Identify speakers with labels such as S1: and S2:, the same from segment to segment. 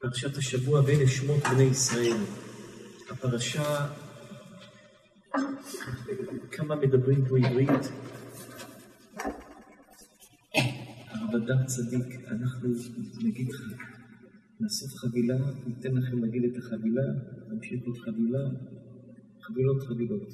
S1: פרשת השבוע בין שמות בני ישראל. הפרשה, כמה מדברים פה עברית. הרב אדם צדיק, אנחנו נגיד נאסוף חבילה, ניתן לכם להגיד את החבילה, נמשיך עוד חבילה, חבילות.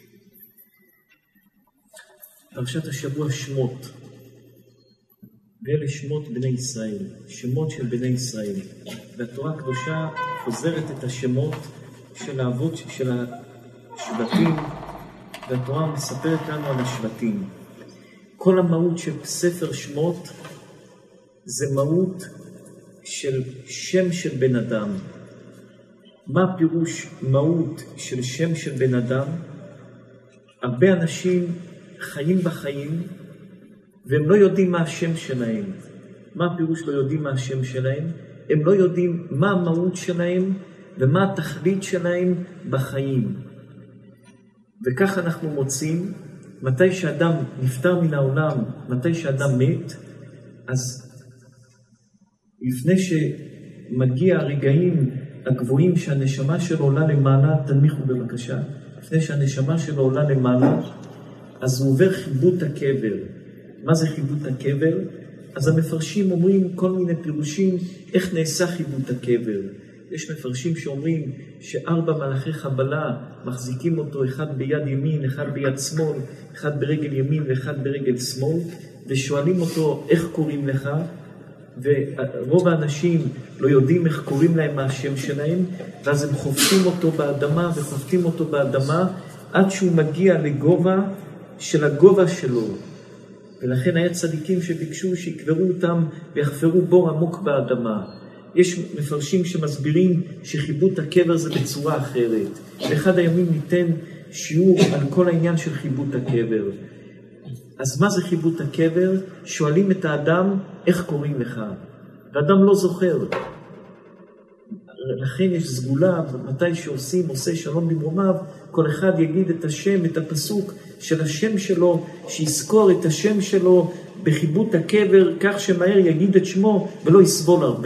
S1: פרשת השבוע שמות. ואלה שמות בני ישראל, שמות של בני ישראל. והתורה הקדושה חוזרת את השמות של האבות של השבטים, והתורה מספרת לנו על השבטים. כל המהות של ספר שמות זה מהות של שם של בן אדם. מה הפירוש מהות של שם של בן אדם? הרבה אנשים חיים בחיים והם לא יודעים מה השם שלהם. מה הפירוש לא יודעים מה השם שלהם? הם לא יודעים מה המהות שלהם ומה התכלית שלהם בחיים. וכך אנחנו מוצאים, מתי שאדם נפטר מן העולם, מתי שאדם מת, אז לפני שמגיע הרגעים הגבוהים שהנשמה שלו עולה למעלה, תנמיכו בבקשה, לפני שהנשמה שלו עולה למעלה, אז הוא עובר חיבוט הקבר. מה זה חיבוט הקבר? אז המפרשים אומרים כל מיני פירושים איך נעשה חיבוט הקבר. יש מפרשים שאומרים שארבע מלאכי חבלה מחזיקים אותו, אחד ביד ימין, אחד ביד שמאל, אחד ברגל ימין ואחד ברגל שמאל, ושואלים אותו איך קוראים לך, ורוב האנשים לא יודעים איך קוראים להם מה השם שלהם, ואז הם חופטים אותו באדמה וחופטים אותו באדמה עד שהוא מגיע לגובה של הגובה שלו. ולכן היה צדיקים שביקשו שיקברו אותם ויחפרו בור עמוק באדמה. יש מפרשים שמסבירים שחיבוט הקבר זה בצורה אחרת. באחד הימים ניתן שיעור על כל העניין של חיבוט הקבר. אז מה זה חיבוט הקבר? שואלים את האדם איך קוראים לך. והאדם לא זוכר. לכן יש סגולה, מתי שעושים, עושה שלום במרומיו, כל אחד יגיד את השם, את הפסוק של השם שלו, שיזכור את השם שלו בחיבוט הקבר, כך שמהר יגיד את שמו ולא יסבול הרבה.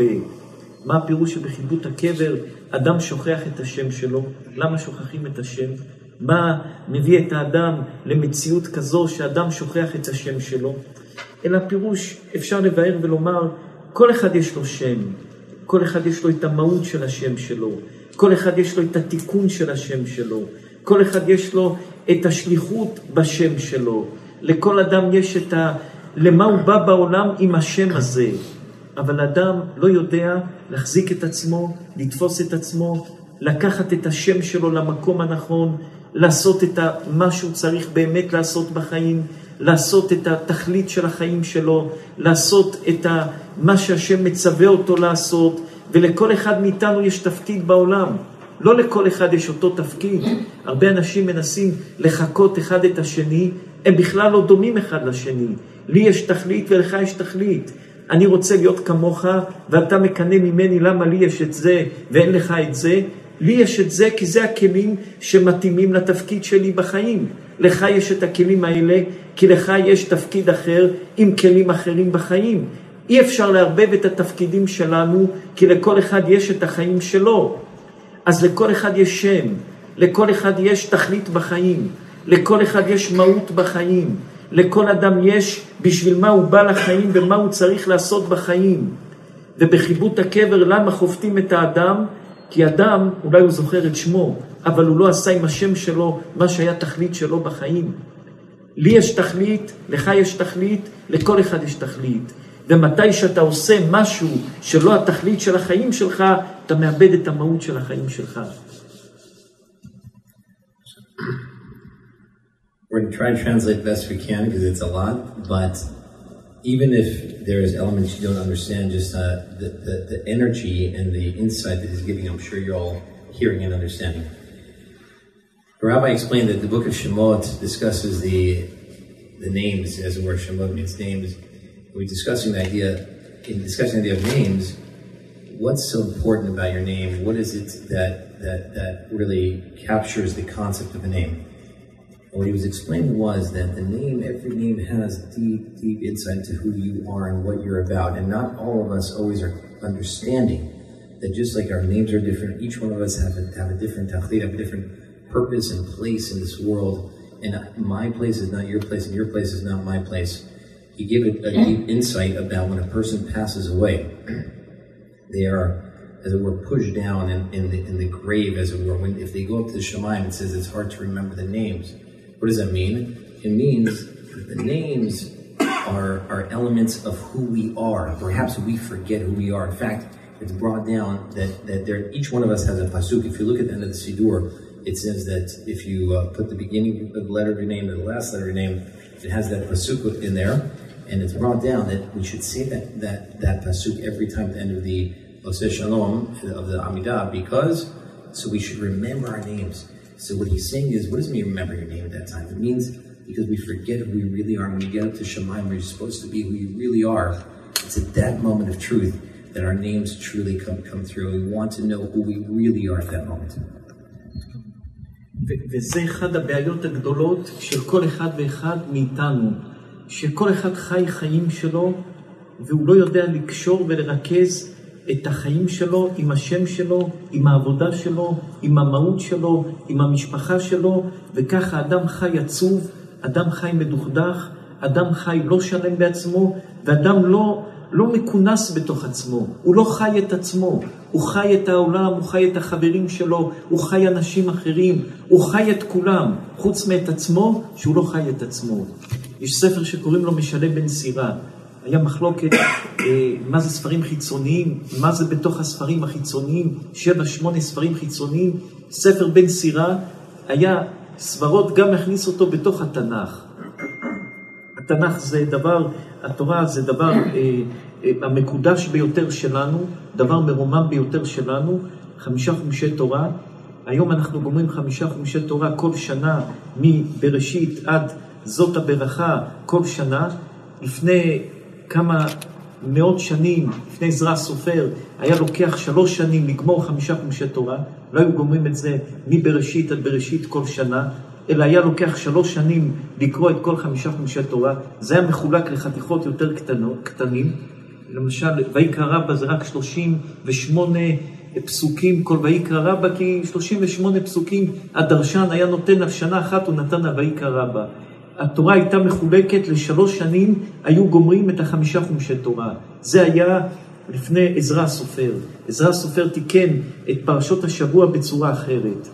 S1: מה הפירוש שבחיבוט הקבר אדם שוכח את השם שלו? למה שוכחים את השם? מה מביא את האדם למציאות כזו שאדם שוכח את השם שלו? אלא פירוש אפשר לבאר ולומר, כל אחד יש לו שם. כל אחד יש לו את המהות של השם שלו. כל אחד יש לו את התיקון של השם שלו. כל אחד יש לו את השליחות בשם שלו. לכל אדם יש את למה הוא בא בעולם עם השם הזה. אבל אדם לא יודע להחזיק את עצמו, לתפוס את עצמו, לקחת את השם שלו למקום הנכון, לעשות את מה שהוא צריך באמת לעשות בחיים, לעשות את התכלית של החיים שלו, לעשות את מה שהשם מצווה אותו לעשות, ולכל אחד מאיתנו יש תפקיד בעולם. לא לכל אחד יש אותו תפקיד. הרבה אנשים מנסים לחכות אחד את השני, הם בכלל לא דומים אחד לשני. לי יש תכלית ולך יש תכלית. אני רוצה להיות כמוך ואתה מקנה ממני למה לי יש את זה ואין לך את זה. לי יש את זה כי זה הכלים שמתאימים לתפקיד שלי בחיים. לך יש את הכלים האלה כי לך יש תפקיד אחר עם כלים אחרים בחיים. אי אפשר לערבב את התפקידים שלנו כי לכל אחד יש את החיים שלו. אז לכל אחד יש שם, לכל אחד יש תכלית בחיים, לכל אחד יש מהות בחיים, לכל אדם יש בשביל מה הוא בא לחיים ומה הוא צריך לעשות בחיים. ובחיבוט הקבר למה חופטים את האדם? כי אדם אולי הוא זוכר את שמו, אבל הוא לא עשה עם השם שלו מה שהיה תכלית שלו בחיים. לי יש תכלית, לך יש תכלית, לכל אחד יש תכלית. ומתי שאתה עושה משהו שלא התכלית של החיים שלך, אתה מאבד את המהות של החיים שלך.
S2: We're going to try to translate the best we can because it's a lot, but even if there is elements you don't understand, just the energy and the insight that he's giving, I'm sure you're all hearing and understanding. The rabbi explained that the book of Shemot discusses the names, as it were. Shemot means names. We're discussing the idea of names. What's so important about your name? What is it that really captures the concept of a name? And what he was explaining was that every name has deep insight into who you are and what you're about. And not all of us always are understanding that just like our names are different, each one of us have a different tachlit, have a different purpose and place in this world, and my place is not your place, and your place is not my place. He gave a deep insight about when a person passes away. They are, as it were, pushed down in the grave, as it were. If they go up to the Shemaim, it says it's hard to remember the names. What does that mean? It means the names are elements of who we are. Perhaps we forget who we are. In fact, it's brought down that each one of us has a pasuk. If you look at the end of the Siddur, it says that if you put the beginning of the letter of your name to the last letter of your name, it has that pasuk in there. And it's brought down that we should say that pasuk every time at the end of the Oseh Shalom, of the Amidah, because, so we should remember our names. So what he's saying is, what does it mean remember your name at that time? It means because we forget who we really are. When we get up to Shemaim, we're supposed to be who we really are. It's at that moment of truth that our names truly come through. We want to know who we really are at that moment.
S1: וזה אחד הבעיות הגדולות של כל אחד ואחד מאיתנו, שכל אחד חי חיים שלו, והוא לא יודע לקשור ולרכז את החיים שלו עם השם שלו, עם העבודה שלו, עם המהות שלו, עם המשפחה שלו, וככה אדם חי עצוב, אדם חי מדוכדך, אדם חי לא שלם בעצמו, ואדם לא מכונס בתוך עצמו, הוא לא חי את עצמו, הוא חי את העולם, הוא חי את החברים שלו, הוא חי אנשים אחרים, הוא חי את כולם, חוץ מאת עצמו, שהוא לא חי את עצמו. יש ספר שקוראים לו משנה בן סירה, היה מחלוקת מה זה ספרים חיצוניים, מה זה בתוך הספרים החיצוניים, 7-8 ספרים חיצוניים, ספר בן סירה, היה סברות גם להכניס אותו בתוך התנ"ך. התנ"ך זה דבר, התורה זה דבר המקודש ביותר שלנו, דבר מרומם ביותר שלנו, 5 חומשי תורה. היום אנחנו גומרים 5 חומשי תורה כל שנה, מבראשית עד זאת הברכה כל שנה. לפני כמה מאות שנים, לפני עזרא הסופר, היה לוקח 3 שנים לגמור 5 חומשי תורה, לא היו גומרים את זה מבראשית עד בראשית כל שנה, אלא היה לוקח 3 שנים לקרוא את כל 5 חומשי תורה. זה היה מחולק לחתיכות יותר קטנים. למשל, ויקרא רבא זה רק 38 פסוקים, כל ויקרא רבא, כי 38 פסוקים, הדרשן היה נותן על שנה אחת, הוא נתן על ויקרא רבא. התורה הייתה מחולקת ל3 שנים, היו גומרים את 5 חומשי תורה. זה היה לפני עזרא הסופר. עזרא הסופר תיקן את פרשות השבוע בצורה אחרת.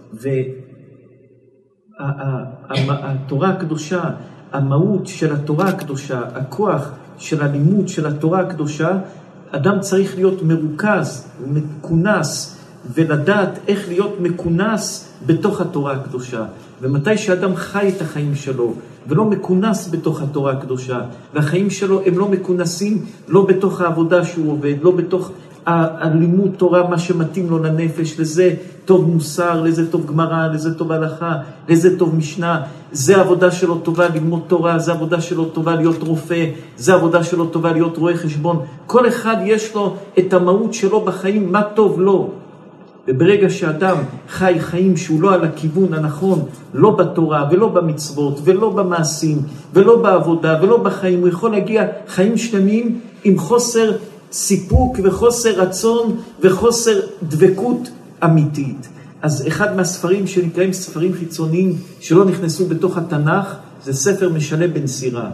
S1: התורה הקדושה, המהות של התורה הקדושה, הכוח של הלימוד של התורה הקדושה, אדם צריך להיות מרוכז, מכונס, ולדעת איך להיות מכונס בתוך התורה הקדושה. ומתי שאדם חי את החיים שלו, ולא מכונס בתוך התורה הקדושה, והחיים שלו הם לא מכונסים, לא בתוך העבודה שהוא עובד, לא בתוך הלימוד תורה, מה שמתאים לו לנפש, לזה טוב מוסר, לזה טוב גמרא, לזה טוב הלכה, לזה טוב משנה, זה עבודה שלו טובה ללמוד תורה, זה עבודה שלו טובה להיות רופא, זה עבודה שלו טובה להיות רואה חשבון. כל אחד יש לו את המהות שלו בחיים, מה טוב לו. וברגע שאדם חי חיים שהוא לא על הכיוון הנכון, לא בתורה ולא במצוות ולא במעשים ולא בעבודה ולא בחיים, הוא יכול להגיע חיים שלמים עם חוסר סיפוק וחוסר רצון וחוסר דבקות אמיתית. אז אחד מהספרים שנקראים ספרים חיצוניים שלא נכנסו בתוך התנ"ך, זה ספר משנה בן סירה.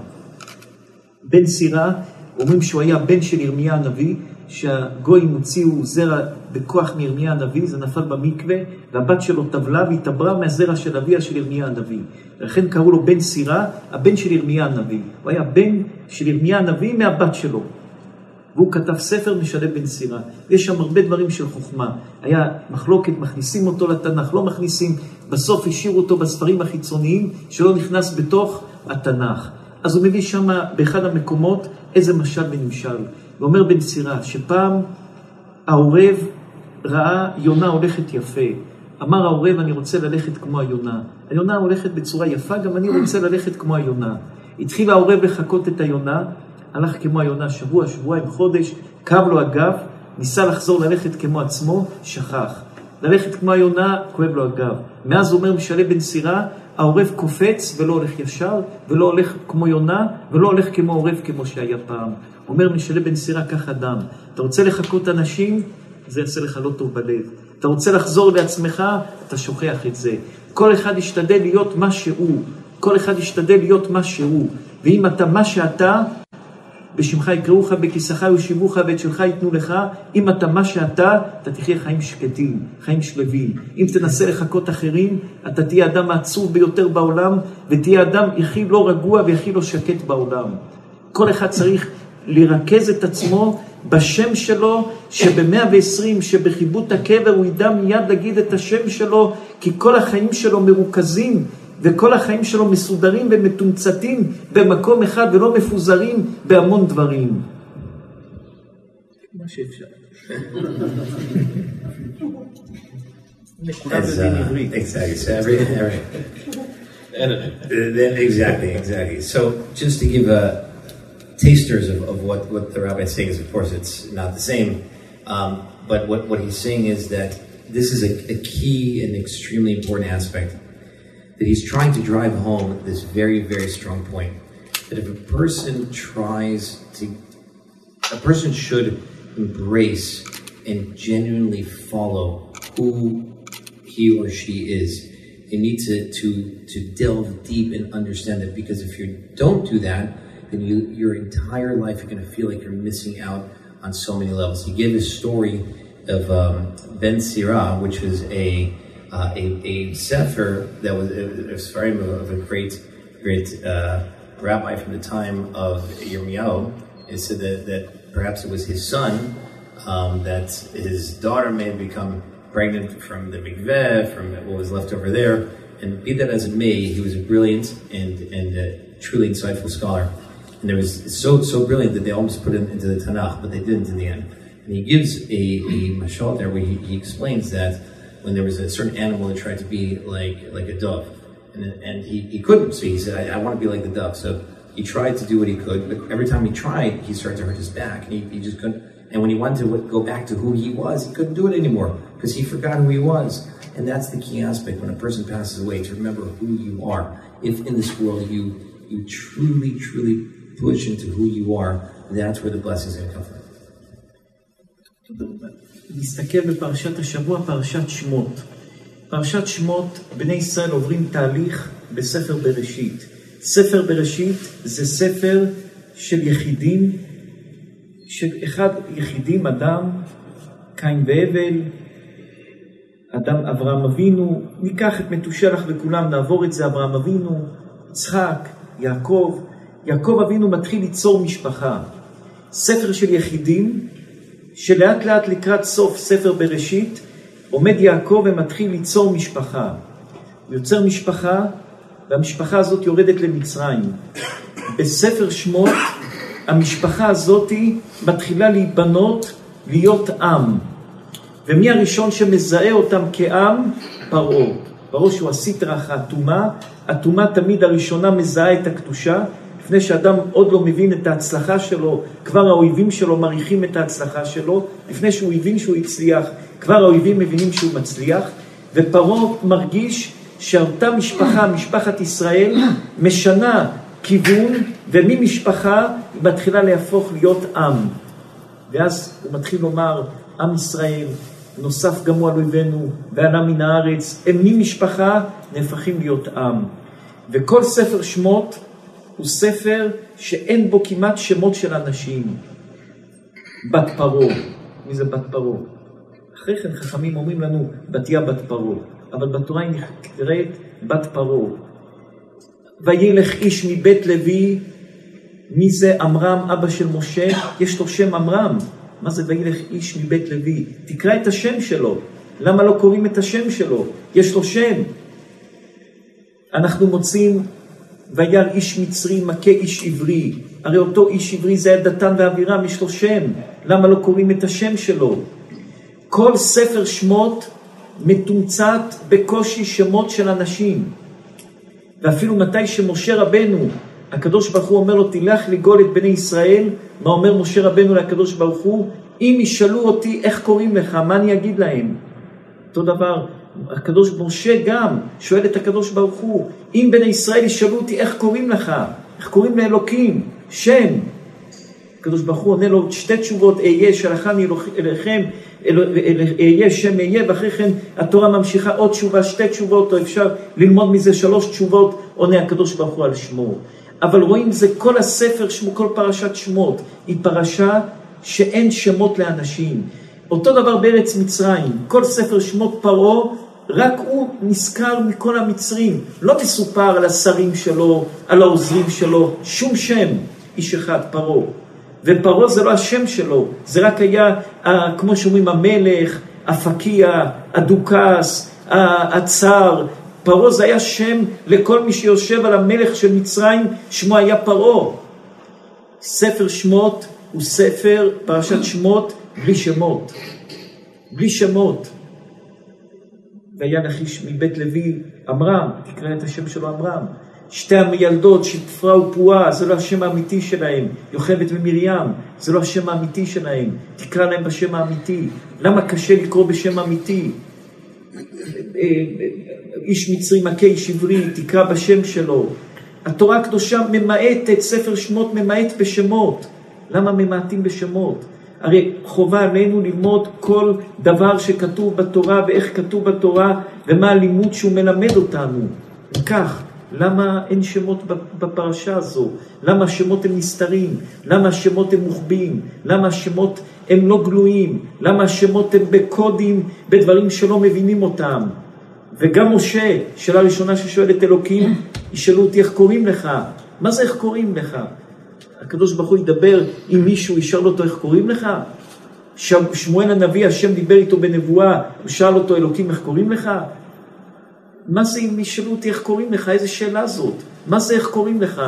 S1: בן סירה, אומרים שהוא היה בן של ירמיה הנביא, שהגויים הוציאו זרע בכוח מירמיה הנביא, זה נפל במקווה, והבת שלו טבלה והתעברה מהזרע של אביה של ירמיה הנביא. לכן קראו לו בן סירה, הבן של ירמיה הנביא. הוא היה בן של ירמיה הנביא מהבת שלו. והוא כתב ספר משנה בן סירה. יש שם הרבה דברים של חוכמה. היה מחלוקת, מכניסים אותו לתנ"ך, לא מכניסים, בסוף השאירו אותו בספרים החיצוניים שלא נכנס בתוך התנ"ך. אז הוא מביא שם באחד המקומות איזה משל ונמשל. ואומר בן סירה שפעם העורב ראה יונה הולכת יפה. אמר העורב, אני רוצה ללכת כמו היונה. היונה הולכת בצורה יפה, גם אני רוצה ללכת כמו היונה. התחיל העורב לחכות את היונה, הלך כמו היונה שבוע, שבועיים, חודש, כאב לו הגב, ניסה לחזור ללכת כמו עצמו, שכח. ללכת כמו היונה, כואב לו הגב. מאז אומר משנה בן סירה, העורב קופץ ולא הולך ישר, ולא הולך כמו יונה, ולא הולך כמו עורב כמו שהיה פעם. אומר משנה בן סירה, כך אדם. אתה רוצה לחכות אנשים, זה יעשה לך לא טוב בלב. אתה רוצה לחזור לעצמך, אתה שוכח את זה. כל אחד ישתדל להיות מה שהוא. כל אחד ישתדל להיות מה שהוא. ואם אתה מה שאתה, בשמך יקראוך, בכיסך יושיבוך, ואת שלך ייתנו לך. אם אתה מה שאתה, אתה תחיה חיים שקטים, חיים שלווים. אם תנסה לחכות אחרים, אתה תהיה אדם העצוב ביותר בעולם, ותהיה אדם הכי לא רגוע והכי לא שקט בעולם. כל אחד צריך לרכז את עצמו בשם שלו, שב-120, שבחיבוט הקבר הוא ידע מיד להגיד את השם שלו, כי כל החיים שלו מרוכזים, וכל החיים שלו מסודרים ומתומצתים במקום אחד, ולא מפוזרים בהמון דברים. מה שאפשר.
S2: Exactly. So just to give tasters of what the rabbi is saying is, of course, it's not the same. But what he's saying is that this is a key and extremely important aspect, that he's trying to drive home this very, very strong point, that if a person should embrace and genuinely follow who he or she is. They need to delve deep and understand that, because if you don't do that, then your entire life you're going to feel like you're missing out on so many levels. He gave a story of Ben Sirah, which was a sefer that was a sefer of a great rabbi from the time of Yirmiyahu. It said that perhaps it was his son, that his daughter may have become pregnant from the mikveh, from what was left over there. And be that as it may, he was a brilliant and a truly insightful scholar. And there was so brilliant that they almost put him into the Tanakh, but they didn't in the end. And he gives a mashal there where he explains that when there was a certain animal that tried to be like a dove, and he couldn't. So he said, I want to be like the dove. So he tried to do what he could, but every time he tried, he started to hurt his back, and he just couldn't. And when he wanted to go back to who he was, he couldn't do it anymore, because he forgot who he was. And that's the key aspect when a person passes away, to remember who you are. If in this world you truly push into who you are, that's where the blessings are going to come from.
S1: נסתכל בפרשת השבוע, פרשת שמות. פרשת שמות, בני ישראל עוברים תהליך בספר בראשית. ספר בראשית זה ספר של יחידים, של אחד יחידים, אדם, קין והבל, אדם אברהם אבינו, ניקח את מתושלח וכולם, נעבור את זה, אברהם אבינו, יצחק, יעקב. יעקב אבינו מתחיל ליצור משפחה. ספר של יחידים, שלאט לאט לקראת סוף ספר בראשית, עומד יעקב ומתחיל ליצור משפחה. הוא יוצר משפחה, והמשפחה הזאת יורדת למצרים. בספר שמות, המשפחה הזאת מתחילה להיבנות, להיות עם. ומי הראשון שמזהה אותם כעם? פרעה. פרעה שהוא הסטרא האטומה. האטומה תמיד הראשונה מזהה את הקדושה. לפני שאדם עוד לא מבין את ההצלחה שלו, כבר האויבים שלו מריחים את ההצלחה שלו. לפני שהוא הבין שהוא הצליח, כבר האויבים מבינים שהוא מצליח. ופרעה מרגיש שאותה משפחה, משפחת ישראל, משנה כיוון, וממשפחה היא מתחילה להפוך להיות עם. ואז הוא מתחיל לומר, עם ישראל נוסף גם הוא על אויבינו, ועלה מן הארץ, הם ממשפחה נהפכים להיות עם. וכל ספר שמות הוא ספר שאין בו כמעט שמות של אנשים. בת פרעה. מי זה בת פרעה? אחרי כן חכמים אומרים לנו, בתיה בת פרעה. אבל בתורה היא נקראת בת פרעה. וילך איש מבית לוי, מי זה? עמרם, אבא של משה, יש לו שם עמרם. מה זה וילך איש מבית לוי? תקרא את השם שלו. למה לא קוראים את השם שלו? יש לו שם. אנחנו מוצאים וירא איש מצרי מכה איש עברי. הרי אותו איש עברי זה היה דתן ואבירם, יש לו שם. למה לא קוראים את השם שלו? כל ספר שמות מתומצת בקושי שמות של אנשים. ואפילו מתי שמשה רבנו, הקדוש ברוך הוא אומר לו, תלך לגאול את בני ישראל, מה אומר משה רבנו לקדוש ברוך הוא? אם ישאלו אותי איך קוראים לך, מה אני אגיד להם? אותו דבר, הקדוש משה גם שואל את הקדוש ברוך הוא, אם בני ישראל ישאלו אותי איך קוראים לך, איך קוראים לאלוקים, שם. הקדוש ברוך הוא עונה לו שתי תשובות, אהיה שלחני אליכם, אהיה שם אהיה, ואחרי כן התורה ממשיכה עוד תשובה, 2 תשובות, או אפשר ללמוד מזה 3 תשובות, עונה הקדוש ברוך הוא על שמו. אבל רואים זה כל הספר שמו, כל פרשת שמות, היא פרשה שאין שמות לאנשים. אותו דבר בארץ מצרים, כל ספר שמות פרעה, רק הוא נזכר מכל המצרים, לא מסופר על השרים שלו, על העוזרים שלו, שום שם, איש אחד, פרעה. ופרעה זה לא השם שלו, זה רק היה, כמו שאומרים, המלך, הפקיע, הדוכס, הצר. פרעה זה היה שם לכל מי שיושב על המלך של מצרים, שמו היה פרעה. ספר שמות הוא ספר, פרשת שמות, בלי שמות. בלי שמות. והיה נחש מבית לוי, עמרם, תקרא את השם שלו עמרם. 2 המיילדות, שפרה ופועה, זה לא השם האמיתי שלהם. יוכבד ומרים, זה לא השם האמיתי שלהם. תקרא להם בשם האמיתי. למה קשה לקרוא בשם אמיתי? איש מצרי מכה איש עברי, תקרא בשם שלו. התורה הקדושה ממעטת, ספר שמות ממעט בשמות. למה ממעטים בשמות? הרי חובה עלינו ללמוד כל דבר שכתוב בתורה ואיך כתוב בתורה ומה הלימוד שהוא מלמד אותנו. וכך, למה אין שמות בפרשה הזו? למה השמות הם נסתרים? למה השמות הם מוחבאים? למה השמות הם לא גלויים? למה השמות הם בקודים, בדברים שלא מבינים אותם? וגם משה, שאלה ראשונה ששואל את אלוקים, ישאלו אותי איך קוראים לך? מה זה איך קוראים לך? הקדוש ברוך הוא ידבר עם מישהו, ישאל אותו איך קוראים לך? שמואל הנביא, השם דיבר איתו בנבואה, הוא שאל אותו אלוקים איך קוראים לך? מה זה אם ישאלו אותי איך קוראים לך? איזה שאלה זאת? מה זה איך קוראים לך?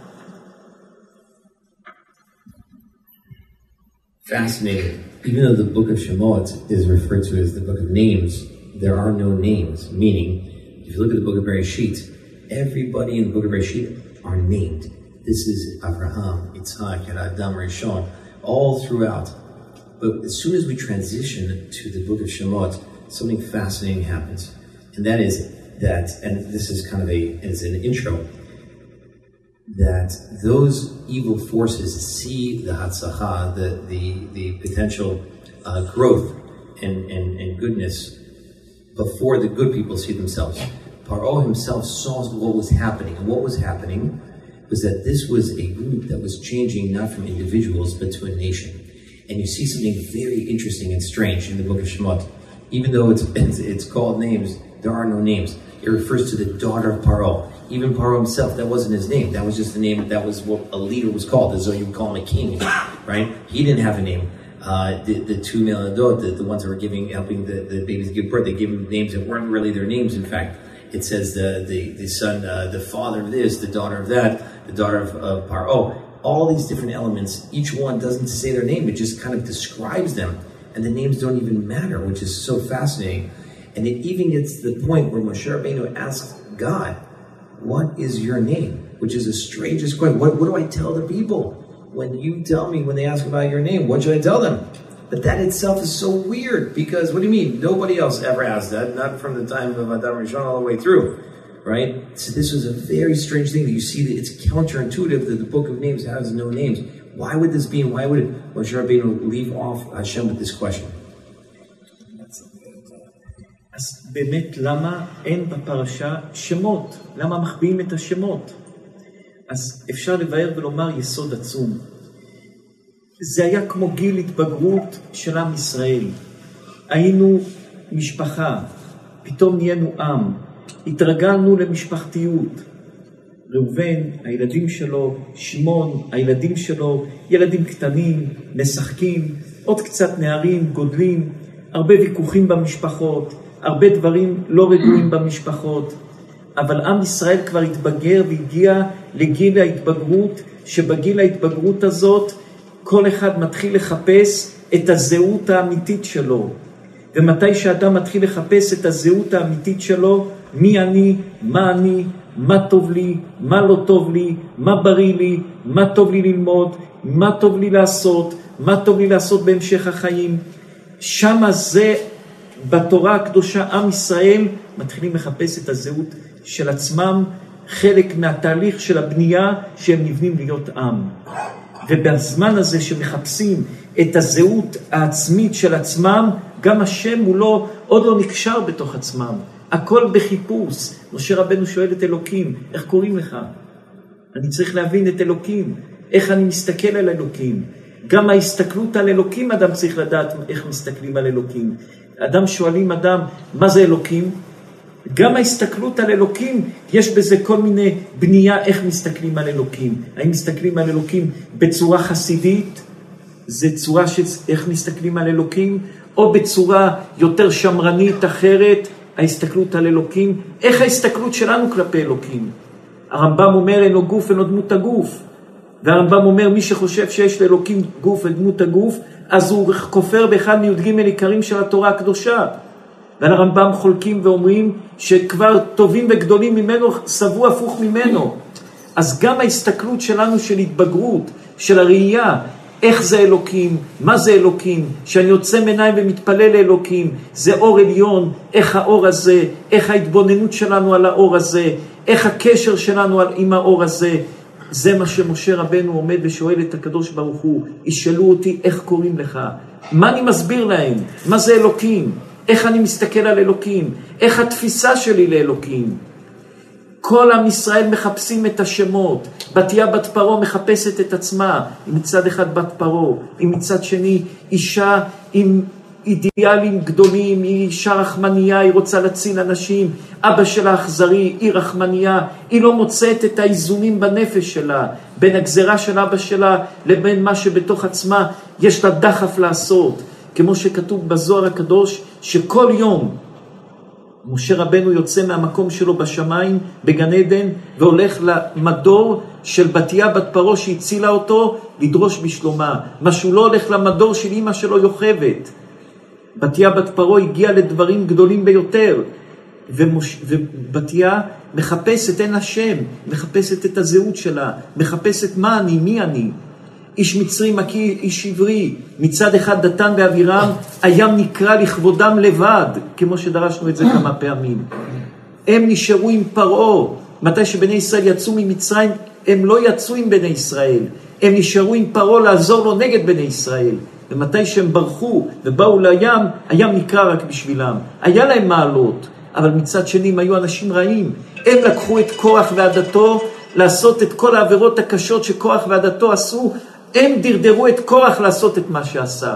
S2: Fascinating. Even though the book of Shemot is referred to as the book of names, there are no names. Meaning, if you look at the book of Bereshit, everybody in the book of Bereshit are named. This is Abraham, Yitzhak, and Adam Rishon, all throughout. But as soon as we transition to the book of Shemot, something fascinating happens. And that is that, and this is kind of it's an intro, that those evil forces see the Hatzacha, the potential growth and goodness before the good people see themselves. Paro himself saw what was happening. And what was happening was that this was a group that was changing not from individuals but to a nation. And you see something very interesting and strange in the book of Shemot. Even though it's called names, there are no names. It refers to the daughter of Paro. Even Paro himself, that wasn't his name. That was just the name, that was what a leader was called, as though you would call him a king, right? He didn't have a name. The 2 Meladot, the ones that were helping the babies give birth, they gave them names that weren't really their names, in fact. It says the son, the father of this, the daughter of that, the daughter of Paro. All these different elements, each one doesn't say their name, it just kind of describes them. And the names don't even matter, which is so fascinating. And it even gets to the point where Moshe Rabbeinu asks God, what is your name? Which is the strangest question. What do I tell the people? When you tell me, when they ask about your name, what should I tell them? But that itself is so weird, because what do you mean? Nobody else ever asked that, not from the time of Adam Rishon all the way through, right? So this was a very strange thing that you see that it's counterintuitive that the book of names has no names. Why would this be, and why would Moshe Rabbeinu leave off Hashem with this question?
S1: אז באמת למה אין בפרשה שמות? למה מחביאים את השמות? אז אפשר לבאר ולומר יסוד עצום. זה היה כמו גיל התבגרות של עם ישראל. היינו משפחה, פתאום נהיינו עם, התרגלנו למשפחתיות. ראובן, הילדים שלו, שמעון, הילדים שלו, ילדים קטנים, משחקים, עוד קצת נערים, גודלים, הרבה ויכוחים במשפחות, הרבה דברים לא רגועים במשפחות, אבל עם ישראל כבר התבגר והגיע לגיל ההתבגרות, שבגיל ההתבגרות הזאת כל אחד מתחיל לחפש את הזהות האמיתית שלו. ומתי שאדם מתחיל לחפש את הזהות האמיתית שלו, מי אני, מה טוב לי, מה לא טוב לי, מה בריא לי, מה טוב לי ללמוד, מה טוב לי לעשות, מה טוב לי לעשות בהמשך החיים, שמה זה בתורה הקדושה עם ישראל מתחילים לחפש את הזהות של עצמם, חלק מהתהליך של הבנייה שהם נבנים להיות עם. ובזמן הזה שמחפשים את הזהות העצמית של עצמם, גם השם הוא לא, עוד לא נקשר בתוך עצמם. הכל בחיפוש. משה רבנו שואל את אלוקים, איך קוראים לך? אני צריך להבין את אלוקים, איך אני מסתכל על אלוקים. גם ההסתכלות על אלוקים, אדם צריך לדעת איך מסתכלים על אלוקים. אדם שואלים אדם, מה זה אלוקים? גם ההסתכלות על אלוקים, יש בזה כל מיני בנייה איך מסתכלים על אלוקים. האם מסתכלים על אלוקים בצורה חסידית? זה צורה של איך מסתכלים על אלוקים? או בצורה יותר שמרנית אחרת, ההסתכלות על אלוקים? איך ההסתכלות שלנו כלפי אלוקים? הרמב"ם אומר, אין לו גוף, אין לו דמות הגוף. והרמב"ם אומר, מי שחושב שיש לאלוקים גוף ודמות הגוף, אז הוא כופר באחד מי"ג עיקרים של התורה הקדושה. ועל הרמב"ם חולקים ואומרים שכבר טובים וגדולים ממנו סבו הפוך ממנו. אז גם ההסתכלות שלנו של התבגרות, של הראייה, איך זה אלוקים, מה זה אלוקים, שאני יוצא מעיניים ומתפלל לאלוקים, זה אור עליון, איך האור הזה, איך ההתבוננות שלנו על האור הזה, איך הקשר שלנו עם האור הזה, זה מה שמשה רבנו עומד ושואל את הקדוש ברוך הוא, ישאלו אותי איך קוראים לך, מה אני מסביר להם, מה זה אלוקים, איך אני מסתכל על אלוקים, איך התפיסה שלי לאלוקים. כל עם ישראל מחפשים את השמות, בתיה בת פרו מחפשת את עצמה, היא מצד אחד בת פרו, היא מצד שני אישה עם אידיאלים גדולים, היא אישה רחמניה, היא רוצה להציל אנשים, אבא שלה אכזרי, היא רחמניה, היא לא מוצאת את האיזונים בנפש שלה, בין הגזרה של אבא שלה לבין מה שבתוך עצמה יש לה דחף לעשות, כמו שכתוב בזוהר הקדוש, שכל יום משה רבנו יוצא מהמקום שלו בשמיים, בגן עדן, והולך למדור של בתיה בת פרו שהצילה אותו, לדרוש בשלומה. מה שהוא לא הולך למדור של אמא שלו יוכבת. בתיה בת פרו הגיעה לדברים גדולים ביותר, ובתיה מחפשת, אין השם, מחפשת את הזהות שלה, מחפשת מה אני, מי אני. איש מצרי מכיר, איש עברי, מצד אחד דתן ואבירם, הים נקרא לכבודם לבד, כמו שדרשנו את זה כמה פעמים. הם נשארו עם פרעה, מתי שבני ישראל יצאו ממצרים, הם לא יצאו עם בני ישראל, הם נשארו עם פרעה לעזור לו נגד בני ישראל, ומתי שהם ברחו ובאו לים, הים נקרא רק בשבילם, היה להם מעלות, אבל מצד שני הם היו אנשים רעים, הם לקחו את כוח ועדתו, לעשות את כל העבירות הקשות שכוח ועדתו עשו, הם דרדרו את כוח לעשות את מה שעשה.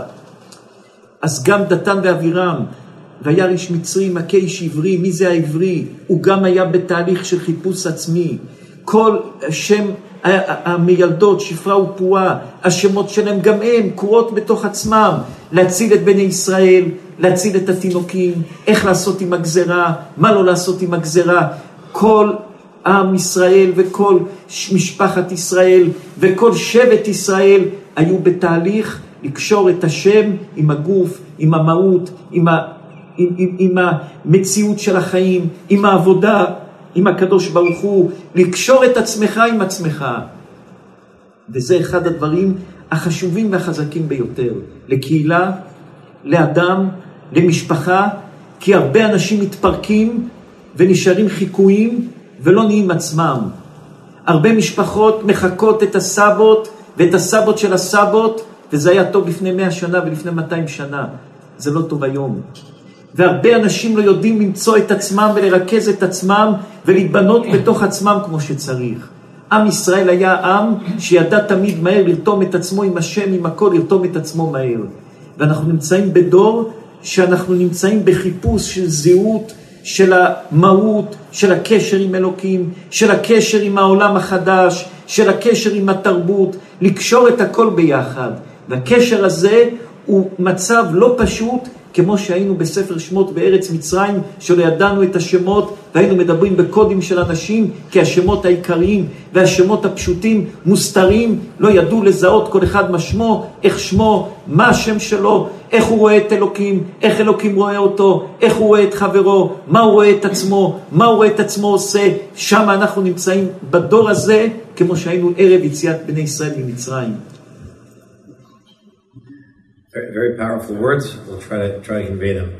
S1: אז גם דתן ואבירם, והיה איש מצרי מכה איש עברי, מי זה העברי? הוא גם היה בתהליך של חיפוש עצמי. כל שם המילדות, שפרה ופועה, השמות שלהם גם הם קורות בתוך עצמם, להציל את בני ישראל, להציל את התינוקים, איך לעשות עם הגזרה, מה לא לעשות עם הגזרה. כל עם ישראל וכל משפחת ישראל וכל שבט ישראל היו בתהליך לקשור את השם עם הגוף, עם המהות, עם המציאות של החיים, עם העבודה, עם הקדוש ברוך הוא, לקשור את עצמך עם עצמך. וזה אחד הדברים החשובים והחזקים ביותר, לקהילה, לאדם, למשפחה, כי הרבה אנשים מתפרקים ונשארים חיקויים ולא נהיים עצמם. הרבה משפחות מחכות את הסבות ואת הסבות של הסבות, וזה היה טוב לפני 100 שנה ולפני 200 שנה. זה לא טוב היום. והרבה אנשים לא יודעים למצוא את עצמם ולרכז את עצמם ולהתבנות בתוך עצמם כמו שצריך. עם ישראל היה עם שידע תמיד מהר לרתום את עצמו עם השם, עם הכל לרתום את עצמו מהר. ואנחנו נמצאים בדור שאנחנו נמצאים בחיפוש של זהות, של המהות, של הקשר עם אלוקים, של הקשר עם העולם החדש, של הקשר עם התרבות, לקשור את הכל ביחד. והקשר הזה הוא מצב לא פשוט, כמו שהיינו בספר שמות בארץ מצרים, שלא ידענו את השמות, והיינו מדברים בקודים של אנשים, כי השמות העיקריים והשמות הפשוטים מוסתרים, לא ידעו לזהות כל אחד מה שמו, איך שמו, מה השם שלו, איך הוא רואה את אלוקים, איך אלוקים רואה אותו, איך הוא רואה את חברו, מה הוא רואה את עצמו, מה הוא רואה את עצמו עושה. שם אנחנו נמצאים בדור הזה, כמו שהיינו ערב יציאת בני ישראל ממצרים.
S2: Very, very powerful words. We'll try to convey them.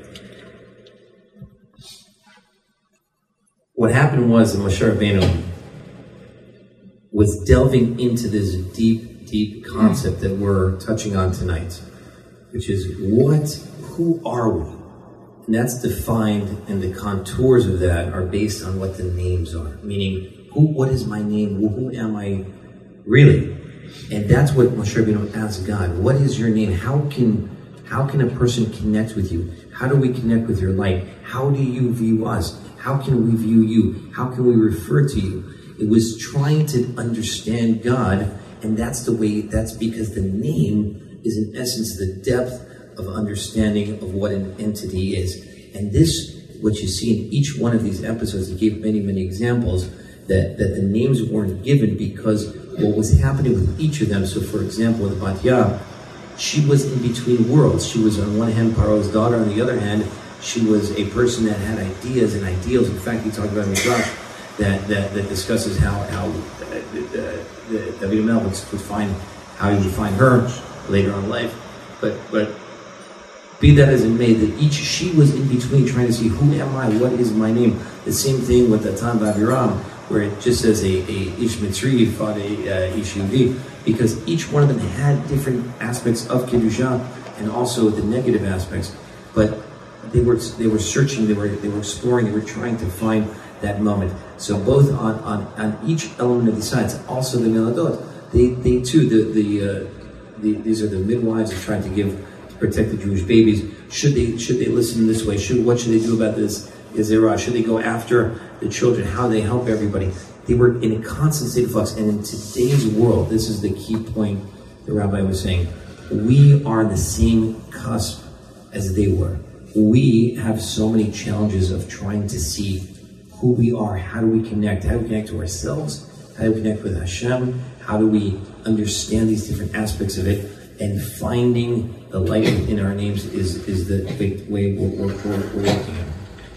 S2: What happened was that Moshe Rabbeinu was delving into this deep, deep concept that we're touching on tonight, which is who are we? And that's defined, and the contours of that are based on what the names are. Meaning, what is my name? Who am I really? And that's what Moshe Rabbeinu asked God. What is your name? How can a person connect with you? How do we connect with your light? How do you view us? How can we view you? How can we refer to you? It was trying to understand God, and that's because the name is in essence the depth of understanding of what an entity is. And this, what you see in each one of these episodes, he gave many, many examples that the names weren't given because what was happening with each of them. So for example, with Batya, she was in between worlds. She was on one hand Paro's daughter, on the other hand, she was a person that had ideas and ideals. In fact, he talked about Midrash that discusses how David Melch would find how he would find her later on in life. But be that as it may, that she was in between trying to see who am I, what is my name. The same thing with Datan B'Aviram, where it just says a Ish Mitzri fought a Ish Yehudi, because each one of them had different aspects of Kedusha and also the negative aspects. But they were searching, they were exploring, they were trying to find that moment. So both on each element of the sides, also the Miladot, they too, these are the midwives that tried to protect the Jewish babies. Should they listen this way? What should they do about this? Should they go after the children? How they help everybody? They were in a constant state of flux. And in today's world, this is the key point the rabbi was saying. We are on the same cusp as they were. We have so many challenges of trying to see who we are. How do we connect? How do we connect to ourselves? How do we connect with Hashem? How do we understand these different aspects of it? And finding the light in our names is the big way we're working on.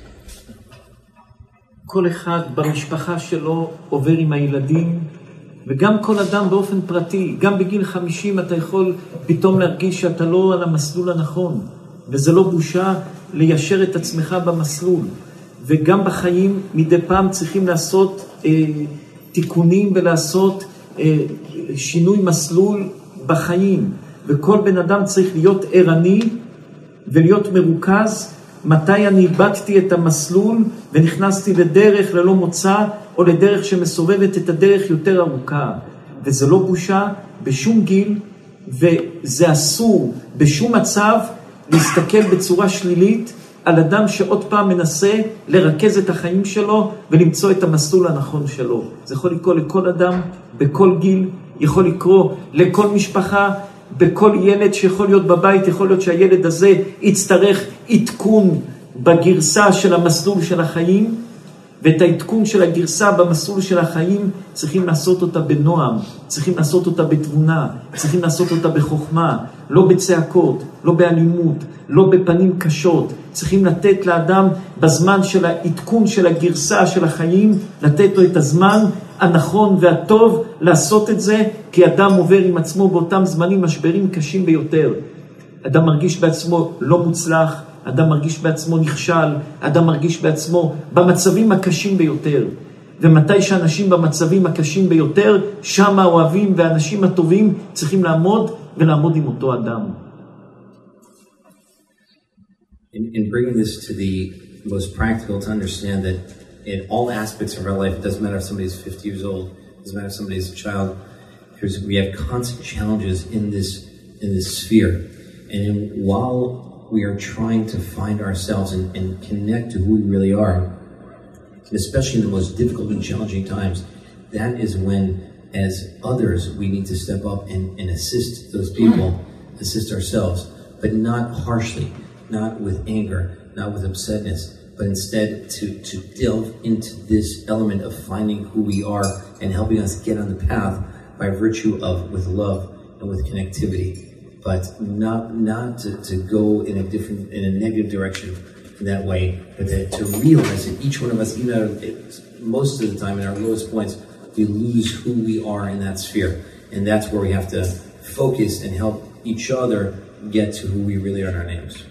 S1: כל אחד במשפחה שלו עובר עם הילדים, וגם כל אדם באופן פרטי, גם בגיל 50 אתה יכול פתאום להרגיש שאתה לא על המסלול הנכון, וזה לא בושה ליישר את עצמך במסלול. וגם בחיים מדי פעם צריכים לעשות תיקונים ולעשות שינוי מסלול בחיים. וכל בן אדם צריך להיות ערני ולהיות מרוכז. מתי אני איבדתי את המסלול ונכנסתי לדרך ללא מוצא, או לדרך שמסובבת את הדרך יותר ארוכה. וזה לא בושה בשום גיל, וזה אסור בשום מצב להסתכל בצורה שלילית על אדם שעוד פעם מנסה לרכז את החיים שלו ולמצוא את המסלול הנכון שלו. זה יכול לקרות לכל אדם, בכל גיל, יכול לקרות לכל משפחה, בכל ילד שיכול להיות בבית. יכול להיות שהילד הזה יצטרך עדכון בגרסה של המסלול של החיים, ואת העדכון של הגרסה במסלול של החיים צריכים לעשות אותה בנועם, צריכים לעשות אותה בתבונה, צריכים לעשות אותה בחוכמה, לא בצעקות, לא באלימות, לא בפנים קשות. צריכים לתת לאדם בזמן של העדכון של הגרסה של החיים, לתת לו את הזמן הנכון והטוב לעשות את זה, כי אדם עובר עם עצמו באותם זמנים משברים קשים ביותר. אדם מרגיש בעצמו לא מוצלח, אדם מרגיש בעצמו נכשל, אדם מרגיש בעצמו במצבים הקשים ביותר. ומתי שאנשים במצבים הקשים ביותר, שם האוהבים והאנשים הטובים צריכים לעמוד ולעמוד עם אותו אדם.
S2: In bringing this to the most practical, to understand that in all aspects of our life, it doesn't matter if somebody's 50 years old, it doesn't matter if somebody's a child, we have constant challenges in this sphere. And while we are trying to find ourselves and connect to who we really are, and especially in the most difficult and challenging times, that is when, as others, we need to step up and assist those people, assist ourselves, but not harshly, not with anger, not with upsetness, but instead to delve into this element of finding who we are and helping us get on the path by virtue of with love and with connectivity, but not to go in a negative direction in that way, but to realize that each one of us, even most of the time in our lowest points, we lose who we are in that sphere, and that's where we have to focus and help each other get to who we really are in our names.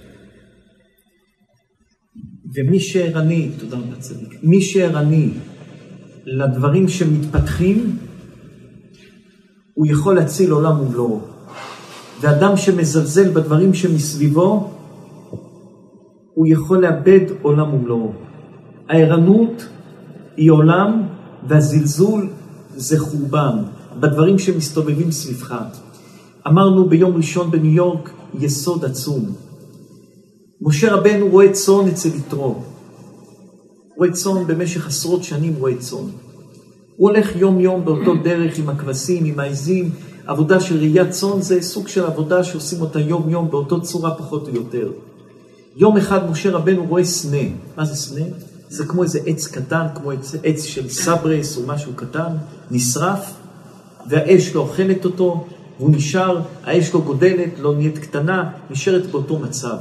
S1: ומי שערני, תודה רבה צדיק, מי שערני לדברים שמתפתחים, הוא יכול להציל עולם ומלואו. ואדם שמזלזל בדברים שמסביבו, הוא יכול לאבד עולם ומלואו. הערנות היא עולם, והזלזול זה חורבן, בדברים שמסתובבים סביבך. אמרנו ביום ראשון בניו יורק, יסוד עצום. משה רבנו רואה צאן אצל יתרו. רואה צאן במשך עשרות שנים, רואה צאן. הוא הולך יום יום באותו דרך עם הכבשים, עם העזים. עבודה של ראיית צאן זה סוג של עבודה שעושים אותה יום יום באותו צורה פחות או יותר. יום אחד משה רבנו רואה סנה. מה זה סנה? זה כמו איזה עץ קטן, כמו עץ של סברס או משהו קטן, נשרף, והאש לא אוכלת אותו, והוא נשאר, האש לא גודלת, לא נהיית קטנה, נשארת באותו מצב.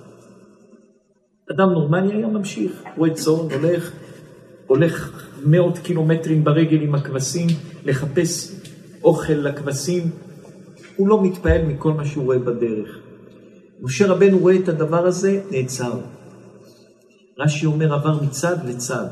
S1: אדם נורמלי היה ממשיך, רואה צאן, הולך 100 קילומטרים ברגל עם הכבשים, לחפש אוכל לכבשים, הוא לא מתפעל מכל מה שהוא רואה בדרך. משה רבנו רואה את הדבר הזה, נעצר. רש"י אומר, עבר מצד לצד,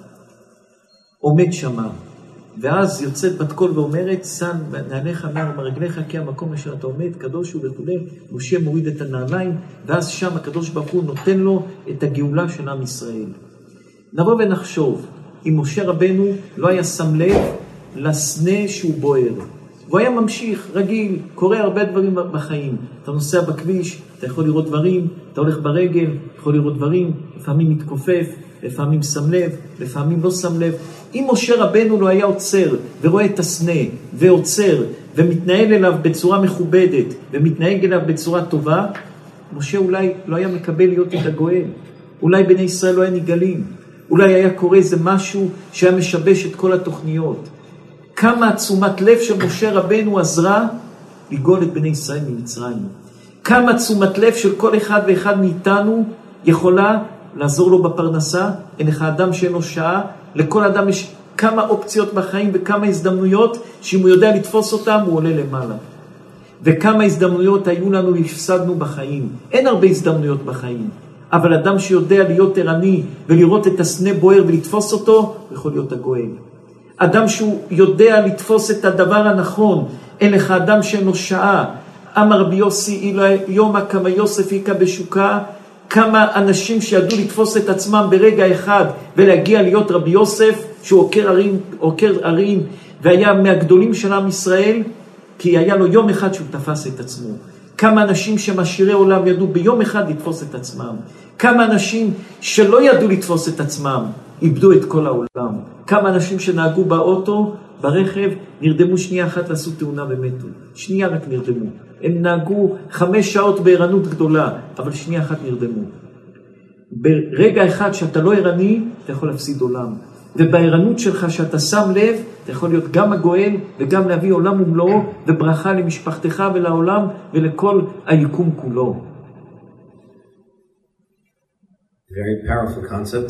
S1: עומד שמה, ואז יוצאת בת קול ואומרת, סן נעליך מעל מרגליך, כי המקום אשר אתה עומד, קדוש הוא וכו'. משה מוריד את הנעליים, ואז שם הקדוש ברוך הוא נותן לו את הגאולה של עם ישראל. נבוא ונחשוב, אם משה רבנו לא היה שם לב לסנה שהוא בוער, והוא היה ממשיך, רגיל, קורה הרבה דברים בחיים. אתה נוסע בכביש, אתה יכול לראות דברים, אתה הולך ברגל, יכול לראות דברים, לפעמים מתכופף, לפעמים שם לב, לפעמים לא שם לב. אם משה רבנו לא היה עוצר ורואה את הסנה ועוצר ומתנהל אליו בצורה מכובדת ומתנהג אליו בצורה טובה, משה אולי לא היה מקבל להיות את הגואל. אולי בני ישראל לא היה נגלים. אולי היה קורה איזה משהו שהיה משבש את כל התוכניות. כמה תשומת לב של משה רבנו עזרה לגאול את בני ישראל ממצרים. כמה תשומת לב של כל אחד ואחד מאיתנו יכולה לעזור לו בפרנסה. אין לך אדם שאין לו שעה, לכל אדם יש כמה אופציות בחיים וכמה הזדמנויות שאם הוא יודע לתפוס אותם הוא עולה למעלה. וכמה הזדמנויות היו לנו והפסדנו בחיים. אין הרבה הזדמנויות בחיים, אבל אדם שיודע להיות ערני ולראות את הסנה בוער ולתפוס אותו, יכול להיות הגואל. אדם שהוא יודע לתפוס את הדבר הנכון. אין לך אדם שאין לו שעה. אמר רבי יוסי יומא כמה יוסף היכה בשוקה. כמה אנשים שידעו לתפוס את עצמם ברגע אחד ולהגיע להיות רבי יוסף, שהוא עוקר ערים והיה מהגדולים של עם ישראל, כי היה לו יום אחד שהוא תפס את עצמו. כמה אנשים שמשאירי עולם ידעו ביום אחד לתפוס את עצמם. כמה אנשים שלא ידעו לתפוס את עצמם איבדו את כל העולם. כמה אנשים שנהגו באוטו, ברכב, נרדמו שנייה אחת ועשו תאונה ומתו. שנייה רק נרדמו. הם נהגו 5 שעות בערנות גדולה, אבל שנייה אחת נרדמו. ברגע אחד שאתה לא ערני, אתה יכול להפסיד עולם. ובערנות שלך שאתה שם לב, אתה יכול להיות גם הגואל וגם להביא עולם ומלואו וברכה למשפחתך ולעולם ולכל היקום כולו.
S2: Very powerful concept.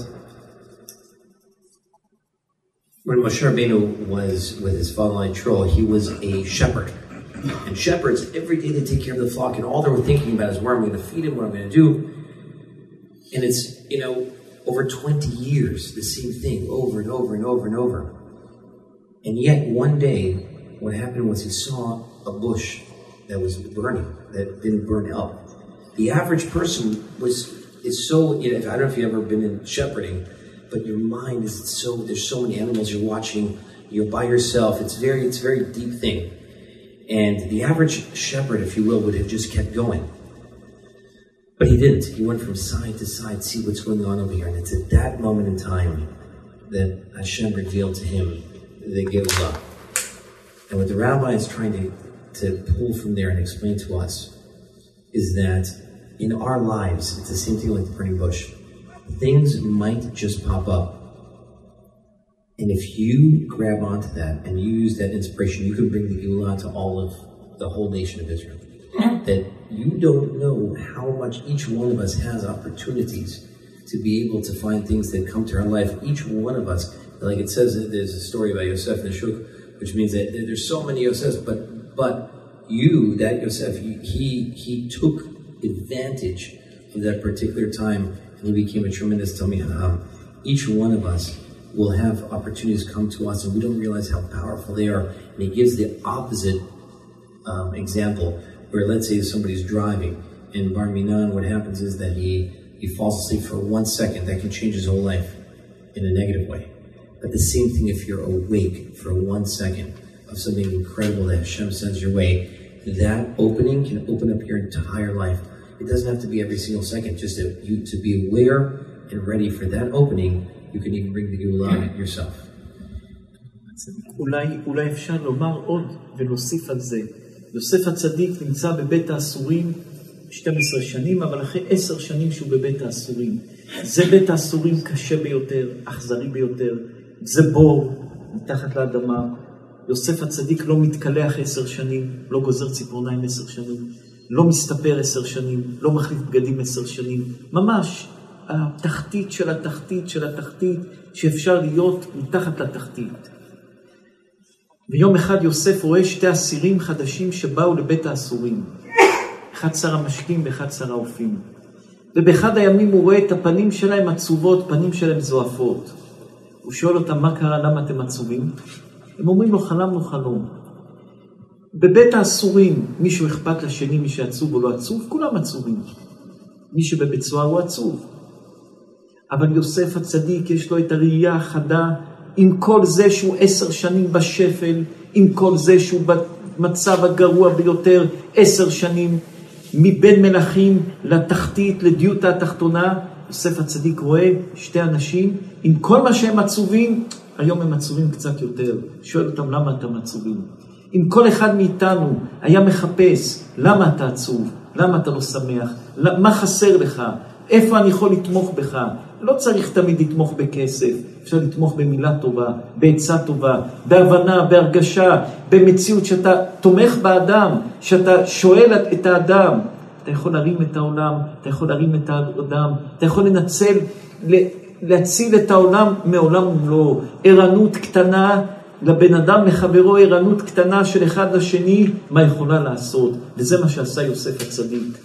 S2: When Moshe Rabbeinu was with his father-in-law Yitro, he was a shepherd. And shepherds, every day they take care of the flock, and all they were thinking about is where I'm going to feed him, what I'm going to do. And it's, over 20 years, the same thing, over and over and over and over. And yet, one day, what happened was he saw a bush that was burning, that didn't burn up. The average person is so, I don't know if you've ever been in shepherding, but your mind is there's so many animals you're watching, you're by yourself, it's very deep thing. And the average shepherd, if you will, would have just kept going. But he didn't. He went from side to side, see what's going on over here. And it's at that moment in time that Hashem revealed to him the Geulah. And what the rabbi is trying to pull from there and explain to us is that in our lives, it's the same thing like the burning bush. Things might just pop up. And if you grab onto that and you use that inspiration, you can bring the Geulah to all of the whole nation of Israel. That you don't know how much each one of us has opportunities to be able to find things that come to our life. Each one of us, like it says, there's a story about Yosef and Shuk, which means that there's so many Yosefs, but you, that Yosef, he took advantage of that particular time and he became a tremendous Talmid Chacham. Each one of us will have opportunities come to us and we don't realize how powerful they are. And he gives the opposite example, where let's say somebody's driving, and Bar Minan, what happens is that he falls asleep for 1 second. That can change his whole life in a negative way. But the same thing if you're awake for 1 second of something incredible that Hashem sends your way, that opening can open up your entire life. It doesn't have to be every single second, just to be aware and ready for that opening. You can even bring the Geulah yourself.
S1: אולי אפשר לומר עוד ולהוסיף על זה. יוסף הצדיק נמצא בבית האסורים 12 שנים, אבל אחרי 10 שנים שהוא בבית האסורים. זה בית האסורים קשה ביותר, אכזרי ביותר. זה בור מתחת לאדמה. יוסף הצדיק לא מתקלח 10 שנים, לא גוזר ציפורניים 10 שנים, לא מסתפר 10 שנים, לא מחליף בגדים 10 שנים. ממש התחתית של התחתית של התחתית שאפשר להיות מתחת לתחתית. ויום אחד יוסף רואה 2 אסירים חדשים שבאו לבית האסורים. אחד שר המשקים ואחד שר האופים. ובאחד הימים הוא רואה את הפנים שלהם עצובות, פנים שלהם זועפות. הוא שואל אותם, מה קרה, למה אתם עצובים? הם אומרים לו, חלמנו חלום. בבית האסורים, מישהו אכפת לשני, מי שעצוב או לא עצוב, כולם עצובים. מי שבבית סוהר הוא עצוב. אבל יוסף הצדיק יש לו את הראייה החדה, עם כל זה שהוא 10 שנים בשפל, עם כל זה שהוא במצב הגרוע ביותר 10 שנים, מבין מלכים לתחתית, לדיוטה התחתונה, יוסף הצדיק רואה 2 אנשים, עם כל מה שהם עצובים, היום הם עצובים קצת יותר. שואל אותם, למה אתם עצובים? אם כל אחד מאיתנו היה מחפש, למה אתה עצוב? למה אתה לא שמח? מה חסר לך? איפה אני יכול לתמוך בך? לא צריך תמיד לתמוך בכסף, אפשר לתמוך במילה טובה, בעצה טובה, בהבנה, בהרגשה, במציאות שאתה תומך באדם, שאתה שואל את האדם. אתה יכול להרים את העולם, אתה יכול להרים את האדם, אתה יכול להציל את העולם מעולם ומלואו. ערנות קטנה לבן אדם, לחברו, ערנות קטנה של אחד לשני, מה יכולה לעשות? וזה מה שעשה יוסף הצדיק.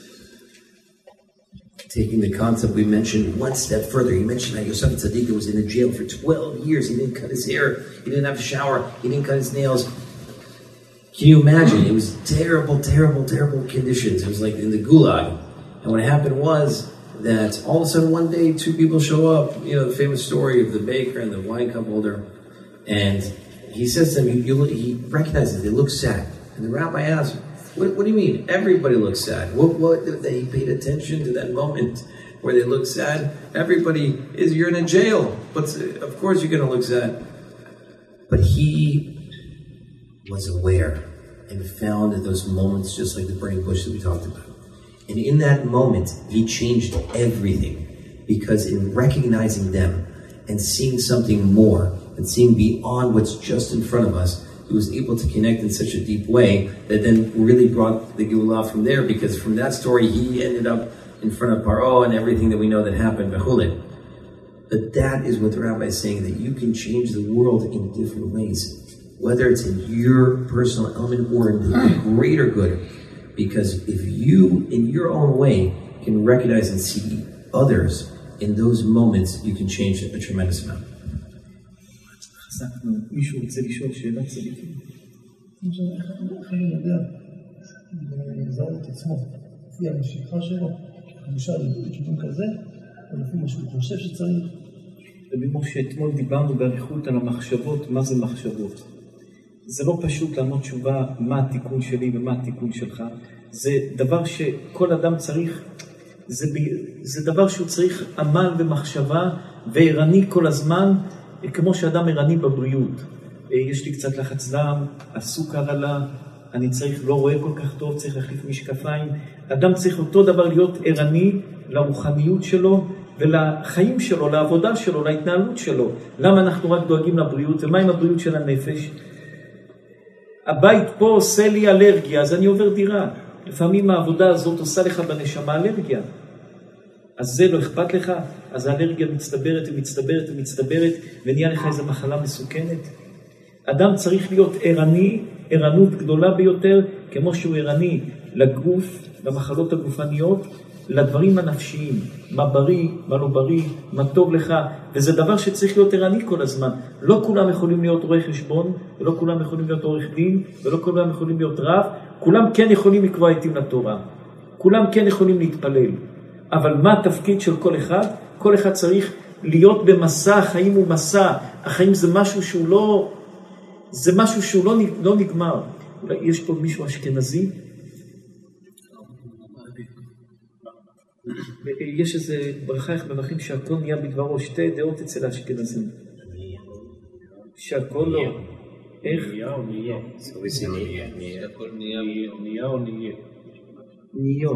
S2: Taking the concept we mentioned one step further, he mentioned that Yosef Tzaddik was in a jail for 12 years. He didn't cut his hair, he didn't have a shower, he didn't cut his nails. Can you imagine? It was terrible, terrible, terrible conditions. It was like in the gulag. And what happened was that all of a sudden one day 2 people show up, you know, the famous story of the baker and the wine cup holder. And he says to them, he recognizes they look sad. And the rabbi asks, what do you mean? Everybody looks sad. What they paid attention to that moment where they look sad? Everybody you're in a jail, but of course you're going to look sad. But he was aware and found those moments just like the burning bush that we talked about. And in that moment, he changed everything, because in recognizing them and seeing something more and seeing beyond what's just in front of us, he was able to connect in such a deep way that then really brought the Geulah from there, because from that story he ended up in front of Paro and everything that we know that happened. But that is what the rabbi is saying, that you can change the world in different ways, whether it's in your personal element or in the greater good. Because if you, in your own way, can recognize and see others in those moments, you can change a tremendous amount.
S1: מישהו רוצה לשאול שאלה צדיקים?
S3: איך אני יודע לזהות את עצמו לפי המשיכה שלו, למשל לכיוון כזה, או לפי מה שהוא חושב שצריך?
S1: ובמו שאתמול דיברנו בעריכות על המחשבות, מה זה מחשבות? זה לא פשוט לענות תשובה מה התיקון שלי ומה התיקון שלך. זה דבר שכל אדם צריך, זה דבר שהוא צריך עמל ומחשבה וערני כל הזמן, כמו שאדם ערני בבריאות. יש לי קצת לחץ דם, הסוכר עלה, אני צריך, לא רואה כל כך טוב, צריך להחליף משקפיים. אדם צריך אותו דבר להיות ערני לרוחניות שלו ולחיים שלו, לעבודה שלו, להתנהלות שלו. למה אנחנו רק דואגים לבריאות? ומה עם הבריאות של הנפש? הבית פה עושה לי אלרגיה, אז אני עובר דירה. לפעמים העבודה הזאת עושה לך בנשמה אלרגיה. אז זה לא אכפת לך, אז האלרגיה מצטברת ומצטברת ומצטברת, ונהיה לך איזו מחלה מסוכנת. אדם צריך להיות ערני, ערנות גדולה ביותר, כמו שהוא ערני לגוף, למחלות הגופניות, לדברים הנפשיים, מה בריא, מה לא בריא, מה טוב לך, וזה דבר שצריך להיות ערני כל הזמן. לא כולם יכולים להיות רואי חשבון, ולא כולם יכולים להיות עורך דין, ולא כולם יכולים להיות רב, כולם כן יכולים לקבוע עיתים לתורה, כולם כן יכולים להתפלל, אבל מה התפקיד של כל אחד? כל אחד צריך להיות במסע, החיים הוא מסע, החיים זה משהו שהוא לא, זה משהו שהוא לא נגמר. אולי יש פה מישהו אשכנזי? יש איזה ברכה איך מברכים שהכל נהיה בדברו, שתי דעות אצל האשכנזים. שהכל לא. איך?
S3: נהיה או נהיה?
S4: שהכל נהיה או נהיה?
S1: ניו.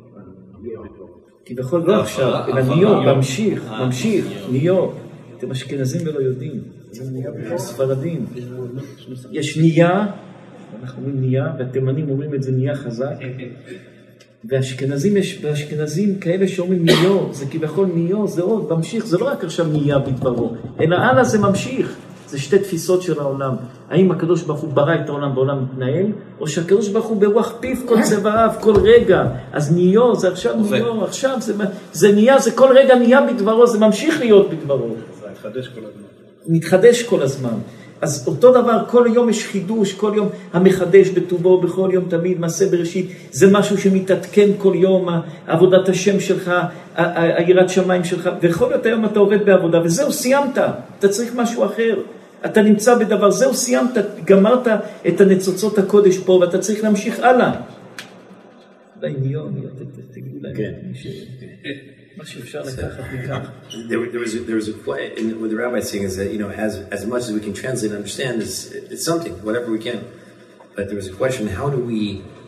S1: כי בכל לא עכשיו, אלא ניו, ממשיך, ניו. אתם אשכנזים ולא יודעים. ספרדים. יש נהיה, אנחנו אומרים נהיה, והתימנים אומרים את זה נהיה חזק. והאשכנזים, יש באשכנזים כאלה שאומרים ניו, זה כביכול ניו, זה עוד, ממשיך, זה לא רק עכשיו נהיה בדברו, אלא הלאה זה ממשיך. זה שתי תפיסות של העולם. האם הקדוש ברוך הוא ברא את העולם והעולם מתנהל, או שהקדוש ברוך הוא ברוח פיו כל צבעיו, כל רגע. אז ניו, זה עכשיו ניו, עכשיו זה נהיה, זה כל רגע נהיה בדברו, זה ממשיך להיות בדברו.
S3: זה מתחדש כל הזמן.
S1: מתחדש כל הזמן. אז אותו דבר, כל יום יש חידוש, כל יום המחדש בטובו, בכל יום תמיד, מעשה בראשית, זה משהו שמתעדכן כל יום, עבודת השם שלך, היראת שמיים שלך, ויכול להיות היום אתה עובד בעבודה, וזהו, סיימת, אתה צריך משהו אחר, אתה נמצא בדבר, זהו, סיימת, גמרת את הניצוצות הקודש פה, ואתה צריך להמשיך הלאה. אולי ניון, תגידו להם, מה שאפשר לקחת מכך.
S2: There was a quote, and what the rabbi is saying is that, as much as we can translate and understand, it's something, whatever we can. But there was a question: how do we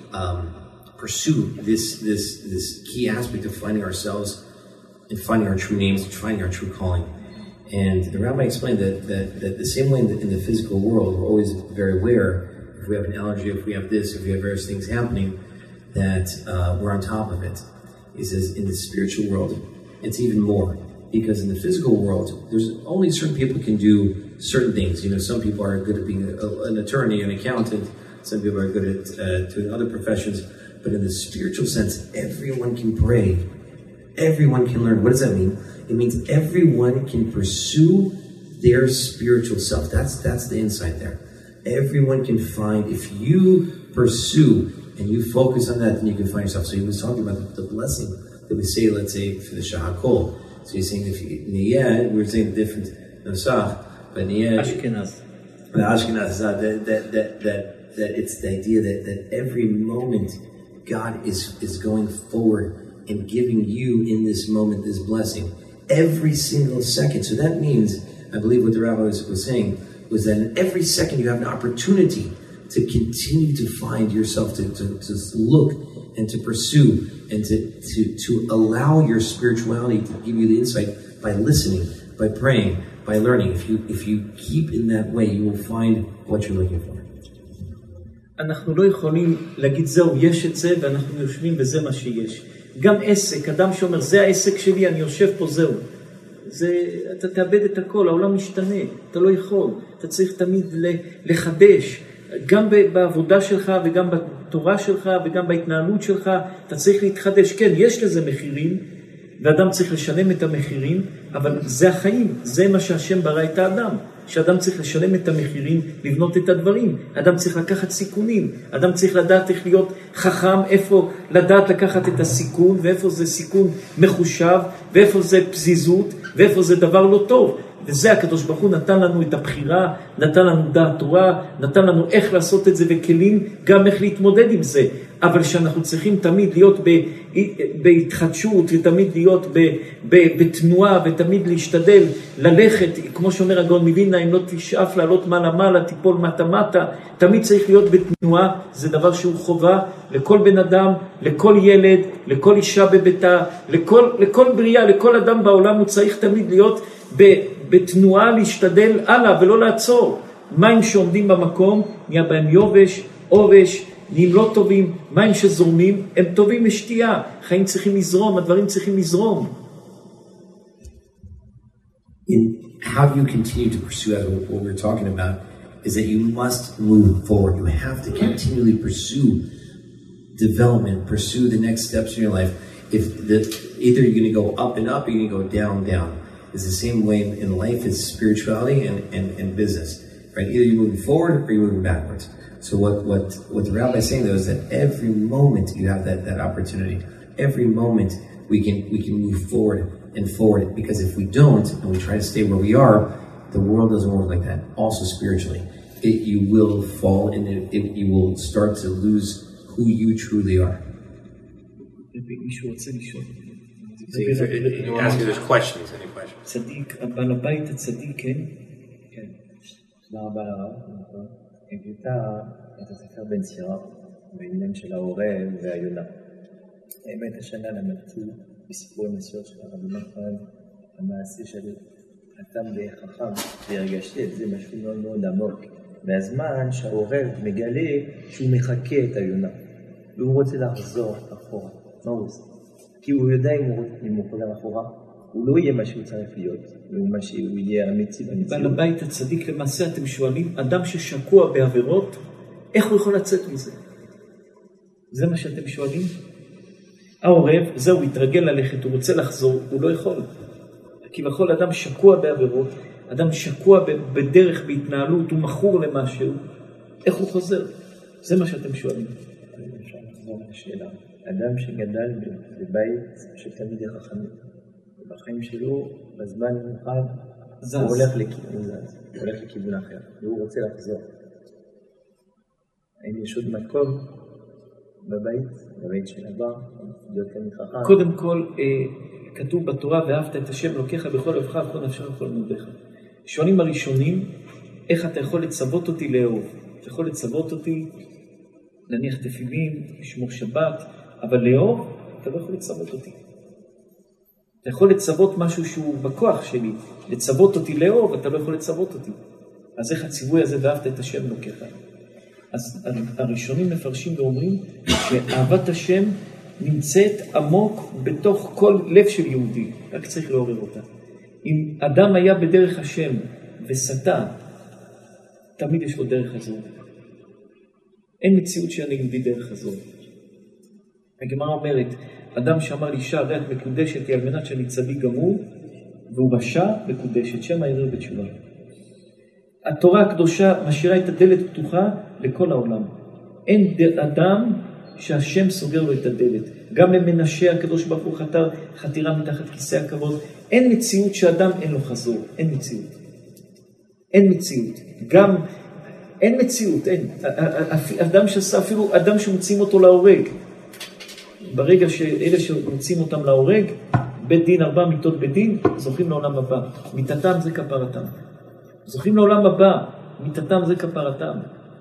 S2: pursue this key aspect of finding ourselves and finding our true names and finding our true calling? And the rabbi explained that the same way in the physical world, we're always very aware if we have an allergy, if we have this, if we have various things happening, that we're on top of it. He says in the spiritual world, it's even more. Because in the physical world, there's only certain people can do certain things. Some people are good at being an attorney, an accountant. Some people are good at doing other professions. But in the spiritual sense, everyone can pray. Everyone can learn. What does that mean? It means everyone can pursue their spiritual self. That's the insight there. Everyone can find, if you pursue and you focus on that, then you can find yourself. So he was talking about the blessing that we say, let's say, for the Shahakol. So he's saying, if Niyah, we were saying different Nusach, but Niyah...
S1: Ashkenaz.
S2: Ashkenaz, that it's the idea that every moment God is going forward and giving you in this moment this blessing. Every single second. So that means, I believe what the rabbi was saying, was that in every second you have an opportunity to continue to find yourself, to look and to pursue and to allow your spirituality to give you the insight by listening, by praying, by learning. If you keep in that way, you will find what you're looking for.
S1: אנחנו לא יכולים להגיד זהו, יש את זה ואנחנו יושבים וזה מה שיש. גם עסק, אדם שאומר זה העסק שלי, אני יושב פה, זהו. אתה תאבד את הכל, העולם משתנה, אתה לא יכול. אתה צריך תמיד לחדש. גם בעבודה שלך וגם בתורה שלך וגם בהתנהלות שלך, אתה צריך להתחדש. כן, יש לזה מחירים, ואדם צריך לשלם את המחירים, אבל זה החיים, זה מה שהשם ברא את האדם. שאדם צריך לשלם את המחירים, לבנות את הדברים. אדם צריך לקחת סיכונים. אדם צריך לדעת איך להיות חכם, איפה לדעת לקחת את הסיכון, ואיפה זה סיכון מחושב, ואיפה זה פזיזות, ואיפה זה דבר לא טוב. וזה הקדוש ברוך הוא נתן לנו את הבחירה, נתן לנו דעת תורה, נתן לנו איך לעשות את זה וכלים, גם איך להתמודד עם זה. אבל שאנחנו צריכים תמיד להיות בהתחדשות, ותמיד להיות בתנועה, ותמיד להשתדל ללכת, כמו שאומר הגאון מווילנה, אם לא תשאף לעלות מעלה, תיפול מטה, תמיד צריך להיות בתנועה. זה דבר שהוא חובה לכל בן אדם, לכל ילד, לכל אישה בביתה, לכל בריאה, לכל אדם בעולם, הוא צריך תמיד להיות בתנועה, להשתדל הלאה ולא לעצור. מים שעומדים במקום, נהיה בהם יובש, עובש, נהיים לא טובים. מים שזורמים, הם טובים לשתייה. חיים צריכים לזרום, הדברים צריכים לזרום.
S2: How do you continue to pursue that? What we're talking about is that you must move forward. You have to continually pursue development, pursue the next steps in your life. either you're going to go up and up, or you're going to go down, down. It's the same way in life as spirituality and business, right? Either you're moving forward or you're moving backwards. So what the rabbi is saying though is that every moment you have that opportunity. Every moment we can move forward and forward, because if we don't and we try to stay where we are, the world doesn't work like that. Also spiritually, you will fall and you will start to lose who you truly are.
S1: מישהו רוצה לשאול.
S4: Ask you those questions, any questions?
S1: צדיק, בעל הבית הצדיק, כן?
S5: כן. תודה רבה לרב. הבאת את הספר בן צירה בעניין של העורב והיונה. האמת השנה למדתי בסיפור הנסיעות של הרבי נחמן, המעשה של אדם וחכם, והרגשתי את זה משהו מאוד מאוד עמוק. מהזמן שהעורב מגלה שהוא מחכה את היונה, והוא רוצה לחזור אחורה. מה הוא עושה? כי הוא יודע אם הוא חוזר אחורה, הוא לא יהיה מה שהוא צריך להיות, והוא מה שהוא יהיה אמיתי במציאות.
S1: בעל הבית הצדיק, למעשה אתם שואלים, אדם ששקוע בעבירות, איך הוא יכול לצאת מזה? זה מה שאתם שואלים? העורב, זהו, התרגל ללכת, הוא רוצה לחזור, הוא לא יכול. כי בכל אדם שקוע בעבירות, אדם שקוע בדרך, בהתנהלות, הוא מכור למשהו, איך הוא חוזר? זה מה שאתם שואלים.
S5: אפשר לחזור לשאלה. אדם שגדל בבית של תלמידי חכמים, ובחיים שלו, בזמן מיוחד, הוא הולך לכיוון אחר, והוא רוצה לחזור. האם יש עוד מקום בבית של אבא, להיות תלמיד חכם?
S1: קודם כל, כתוב בתורה, ואהבת את השם אלוקיך בכל לבך ובכל נפשך ובכל מאודך. שואלים הראשונים, איך אתה יכול לצוות אותי לאהוב? אתה יכול לצוות אותי, להניח תפילין, לשמור שבת, אבל לאהוב, אתה לא יכול לצוות אותי. אתה יכול לצוות משהו שהוא בכוח שלי, לצוות אותי לאהוב, אתה לא יכול לצוות אותי. אז איך הציווי הזה, ואהבת את השם אלוקיך? אז הראשונים מפרשים ואומרים שאהבת השם נמצאת עמוק בתוך כל לב של יהודי, רק צריך לעורר אותה. אם אדם היה בדרך השם וסטה, תמיד יש לו דרך הזו. אין מציאות שאני יהודי דרך הזו. הגמרא אומרת, אדם שאמר לאישה, הרי את מקודשת היא על מנת שאני צדיק גמור, והוא רשע מקודשת, שם הערער בתשובה. התורה הקדושה משאירה את הדלת פתוחה לכל העולם. אין אדם שהשם סוגר לו את הדלת. גם למנשה הקדוש ברוך הוא חתירה מתחת כיסא הכבוד. אין מציאות שאדם אין לו חזור. אין מציאות. אין מציאות. גם אין מציאות, אין. אדם שעשה, אפילו אדם שמוצאים אותו להורג. ברגע שאלה שמוצאים אותם להורג, בית דין 4 מיתות בית דין, זוכים לעולם הבא. מיתתם זה כפרתם. זוכים לעולם הבא, מיתתם זה כפרתם.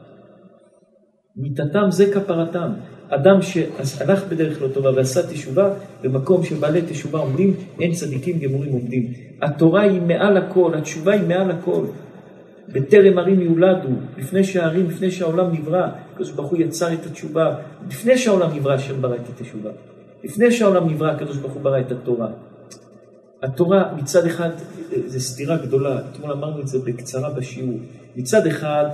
S1: מיתתם זה כפרתם. אדם שהלך בדרך לא טובה ועשה תשובה, במקום שבעלי תשובה עומדים, אין צדיקים גמורים עומדים. התורה היא מעל הכל, התשובה היא מעל הכל. בטרם ערים יולדו, לפני שהערים, לפני שהעולם נברא, הקדוש ברוך הוא יצר את התשובה, לפני שהעולם נברא, השם ברא את התשובה. לפני שהעולם נברא, הקדוש ברוך הוא ברא את התורה. התורה מצד אחד, זה סתירה גדולה, אתמול אמרנו את זה בקצרה בשיעור. מצד אחד,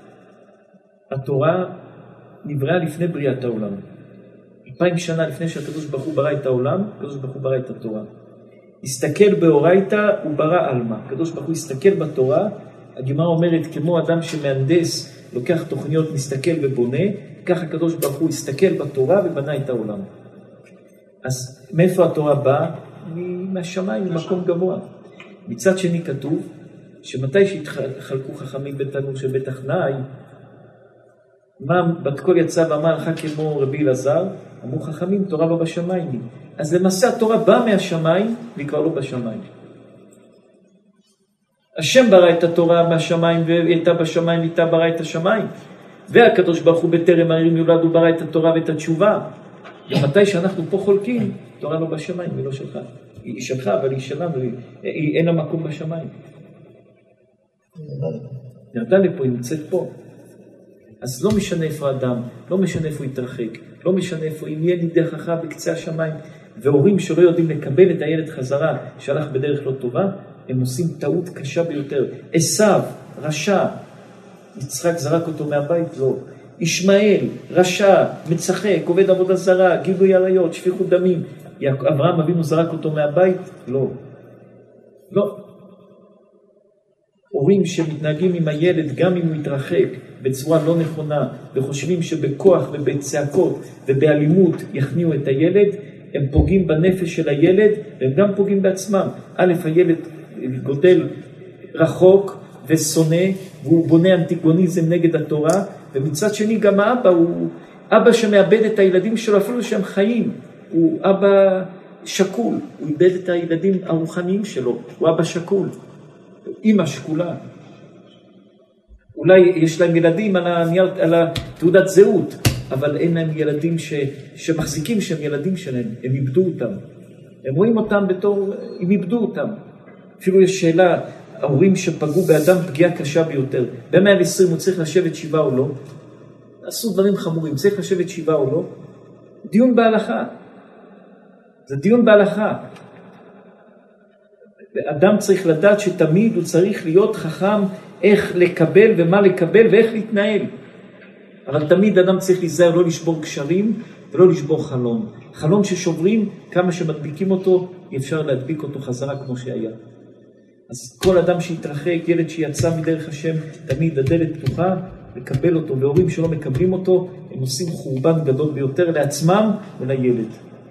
S1: התורה נבראה לפני בריאת העולם. 2000 שנה לפני שהקדוש ברוך הוא ברא את העולם, הקדוש ברוך הוא ברא את התורה. הסתכל באורייתא וברא עלמא. הקדוש ברוך הוא הסתכל בתורה, הגמרא אומרת, כמו אדם שמהנדס, לוקח תוכניות, מסתכל ובונה, כך הקדוש ברוך הוא הסתכל בתורה ובנה את העולם. אז מאיפה התורה באה? מהשמיים, ממקום גבוה. מצד שני כתוב, שמתי שהתחלקו חכמים בתנור של בית אחנאי, מה בת קול יצא ואמר לך כמו רבי אלעזר, אמרו חכמים, תורה לא בשמיים. אז למעשה התורה באה מהשמיים, והיא כבר לא בשמיים. השם ברא את התורה מהשמיים, והיא הייתה בשמיים, והיא הייתה ברא את השמיים. והקדוש ברוך הוא בטרם הערים יולד, הוא ברא את התורה ואת התשובה. ומתי שאנחנו פה חולקים, תורה לא בשמיים, היא לא שלך. היא שלך, אבל היא שלנו, אין לה מקום בשמיים. ירדה לפה, היא נמצאת פה. אז לא משנה איפה אדם, לא משנה איפה הוא יתרחק, לא משנה איפה, אם יהיה נידחך בקצה השמיים, והורים שלא יודעים לקבל את הילד חזרה, שהלך בדרך לא טובה, הם עושים טעות קשה ביותר. עשיו, רשע, יצחק זרק אותו מהבית, לא. ישמעאל, רשע, מצחק, עובד עבודה זרה, גילוי עריות, שפיכות דמים. אברהם אבינו זרק אותו מהבית? לא. לא. הורים שמתנהגים עם הילד גם אם הוא מתרחק בצורה לא נכונה וחושבים שבכוח ובצעקות ובאלימות יכניעו את הילד, הם פוגעים בנפש של הילד והם גם פוגעים בעצמם. א', הילד גודל רחוק ושונא והוא בונה אנטיגוניזם נגד התורה, ומצד שני גם האבא הוא אבא שמאבד את הילדים שלו אפילו שהם חיים. הוא אבא שקול, הוא איבד את הילדים הרוחניים שלו, הוא אבא שקול. אמא שקולה. אולי יש להם ילדים על התעודת זהות, אבל אין להם ילדים שמחזיקים שהם ילדים שלהם, הם איבדו אותם. הם רואים אותם בתור, הם איבדו אותם. אפילו יש שאלה, ההורים שפגעו באדם פגיעה קשה ביותר, ב-120 הוא צריך לשבת 7 או לא? עשו דברים חמורים, צריך לשבת 7 או לא? דיון בהלכה. זה דיון בהלכה. אדם צריך לדעת שתמיד הוא צריך להיות חכם איך לקבל ומה לקבל ואיך להתנהל. אבל תמיד אדם צריך להיזהר לא לשבור קשרים ולא לשבור חלום. חלום ששוברים, כמה שמדביקים אותו, אפשר להדביק אותו חזרה כמו שהיה. אז כל אדם שהתרחק, ילד שיצא מדרך השם, תמיד הדלת פתוחה, לקבל אותו, והורים שלא מקבלים אותו, הם עושים חורבן גדול ביותר לעצמם ולילד.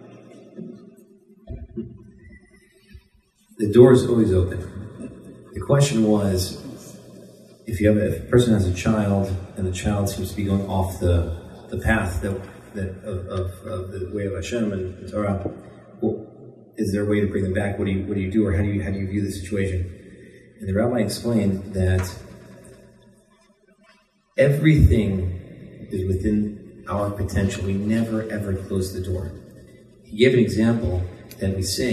S2: The door is always open. The question was, if a person has a child and the child seems to be going off the path of the way of Hashem and Torah, well, is there a way to bring them back? What do you do, or how do you view the situation? And the rabbi explained that everything is within our potential. We never ever close the door. He gave an example that we say,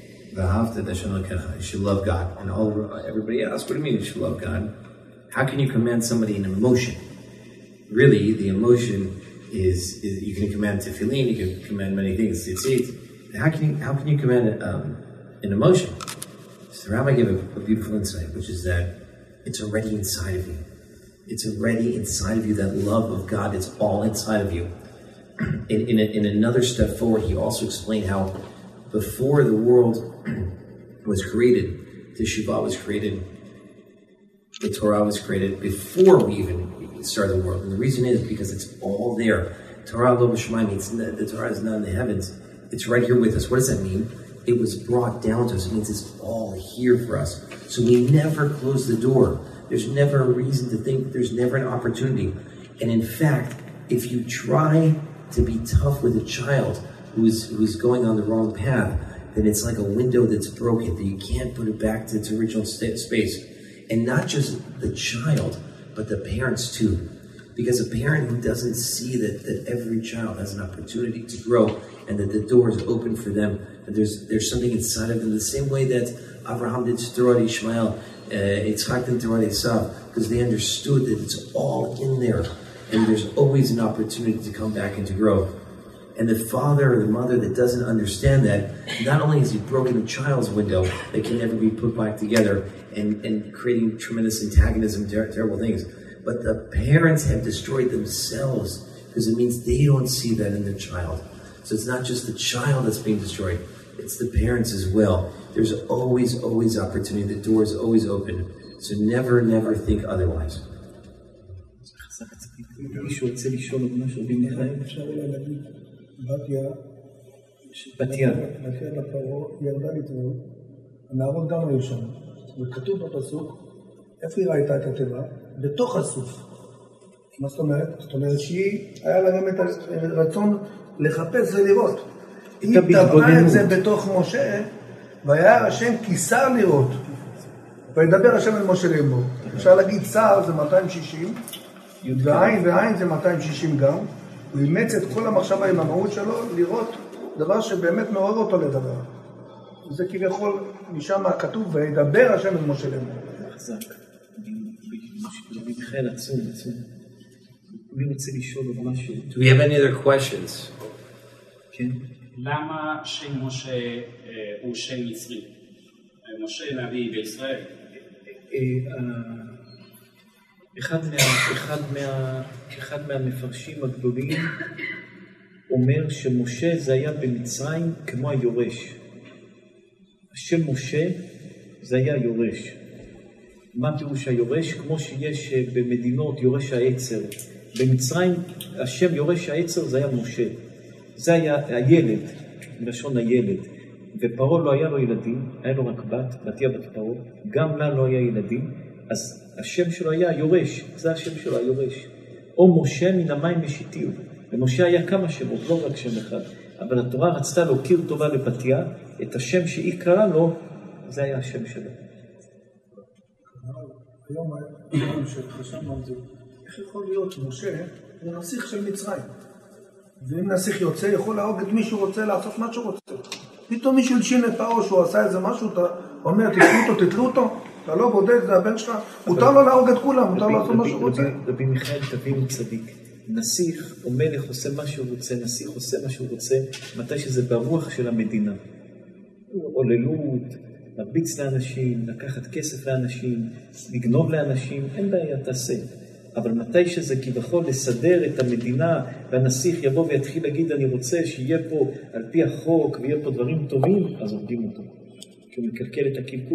S2: you should love God. And everybody asks, what do you mean you should love God? How can you command somebody an emotion? Really, the emotion is you can command tefillin, you can command many things. How can you command an emotion? So the rabbi gave a beautiful insight, which is that it's already inside of you. It's already inside of you, that love of God, it's all inside of you. In another step forward, he also explained how before the world was created, the Shiva was created, the Torah was created, before we even started the world. And the reason is because it's all there. Torah lo b'shamayim means the Torah is not in the heavens. It's right here with us. What does that mean? It was brought down to us. It means it's all here for us. So we never close the door. There's never a reason to think, there's never an opportunity. And in fact, if you try to be tough with a child who's going on the wrong path, then it's like a window that's broken, that you can't put it back to its original space. And not just the child, but the parents too. Because a parent who doesn't see that every child has an opportunity to grow and that the door is open for them, and there's something inside of them, the same way that Abraham did to Torah Ishmael, Yitzchak did to Torah Esav, because they understood that it's all in there, and there's always an opportunity to come back and to grow. And the father or the mother that doesn't understand that, not only has he broken the child's window that can never be put back together and creating tremendous antagonism, terrible things, but the parents have destroyed themselves because it means they don't see that in their child. So it's not just the child that's being destroyed, it's the parents as well. There's always opportunity. The door is always open. So never think otherwise.
S1: מישהו רוצה לשאול את משהו במיכאל?
S3: אפשר אולי להגיד, בתיה לפרעה ירדה לטבול, הנערות גם היו שם, וכתוב בפסוק, איפה היא ראיתה את התיבה? בתוך הסוף. מה זאת אומרת? זאת אומרת שהיא, היה לה גם את הרצון לחפש ולראות. היא טבעה את זה בתוך משה, והיה השם כיסר לראות. וידבר השם אל משה לאמור. אפשר להגיד שר זה 260, ועין זה 260 גם. הוא אימץ את כל המחשבה עם המהות שלו לראות דבר שבאמת מעורר אותו לדבר. וזה כביכול משם כתוב, וידבר השם אל משה לאמור.
S1: חזק. מיכאל עצום. מי רוצה לשאול עוד משהו?
S4: Do we have any other questions?
S1: כן.
S6: למה שם משה הוא שם מצרי? משה נביא בישראל. אחד מהמפרשים הגדולים
S1: אומר שמשה זה היה במצרים כמו היורש. השם משה זה היה יורש. מה פירוש היורש? כמו שיש במדינות יורש העצר. במצרים השם יורש העצר זה היה משה. זה היה הילד, מלשון הילד. ופרעה לא היה לו ילדים, היה לו רק בתיה בת פרעה. גם לה לא היה ילדים, אז השם שלו היה יורש. זה השם שלו, היורש. או משה מן המים משיתיהו. ומשה היה כמה שמות, לא רק שם אחד. אבל התורה רצתה להכיר טובה לבתיה, את השם שהיא קראה לו, זה היה השם שלו.
S3: היום שחשבנו על זה, איך יכול להיות משה הוא נסיך של מצרים? ואם נסיך יוצא, יכול להרוג את מי שהוא רוצה, לעשות מה שהוא רוצה. פתאום מישהו הלשין את פרעה שהוא עשה איזה משהו, אתה אומר, תתלו אותו, אתה לא בודק, זה הבן שלך, מותר לו להרוג את כולם, מותר לו לעשות מה שהוא רוצה.
S1: רבי מיכאל תבינו צדיק. נסיך או מלך עושה מה שהוא רוצה, נסיך עושה מה שהוא רוצה, מתי שזה ברוח של המדינה. עוללות, מרביץ לאנשים, לקחת כסף לאנשים, לגנוב לאנשים, אין בעיה, תעשה. אבל מתי שזה כביכול לסדר את המדינה, והנסיך יבוא ויתחיל להגיד, אני רוצה שיהיה פה על פי החוק, ויהיה פה דברים טובים, אז עובדים אותו. כי הוא מקלקל את הקלקול.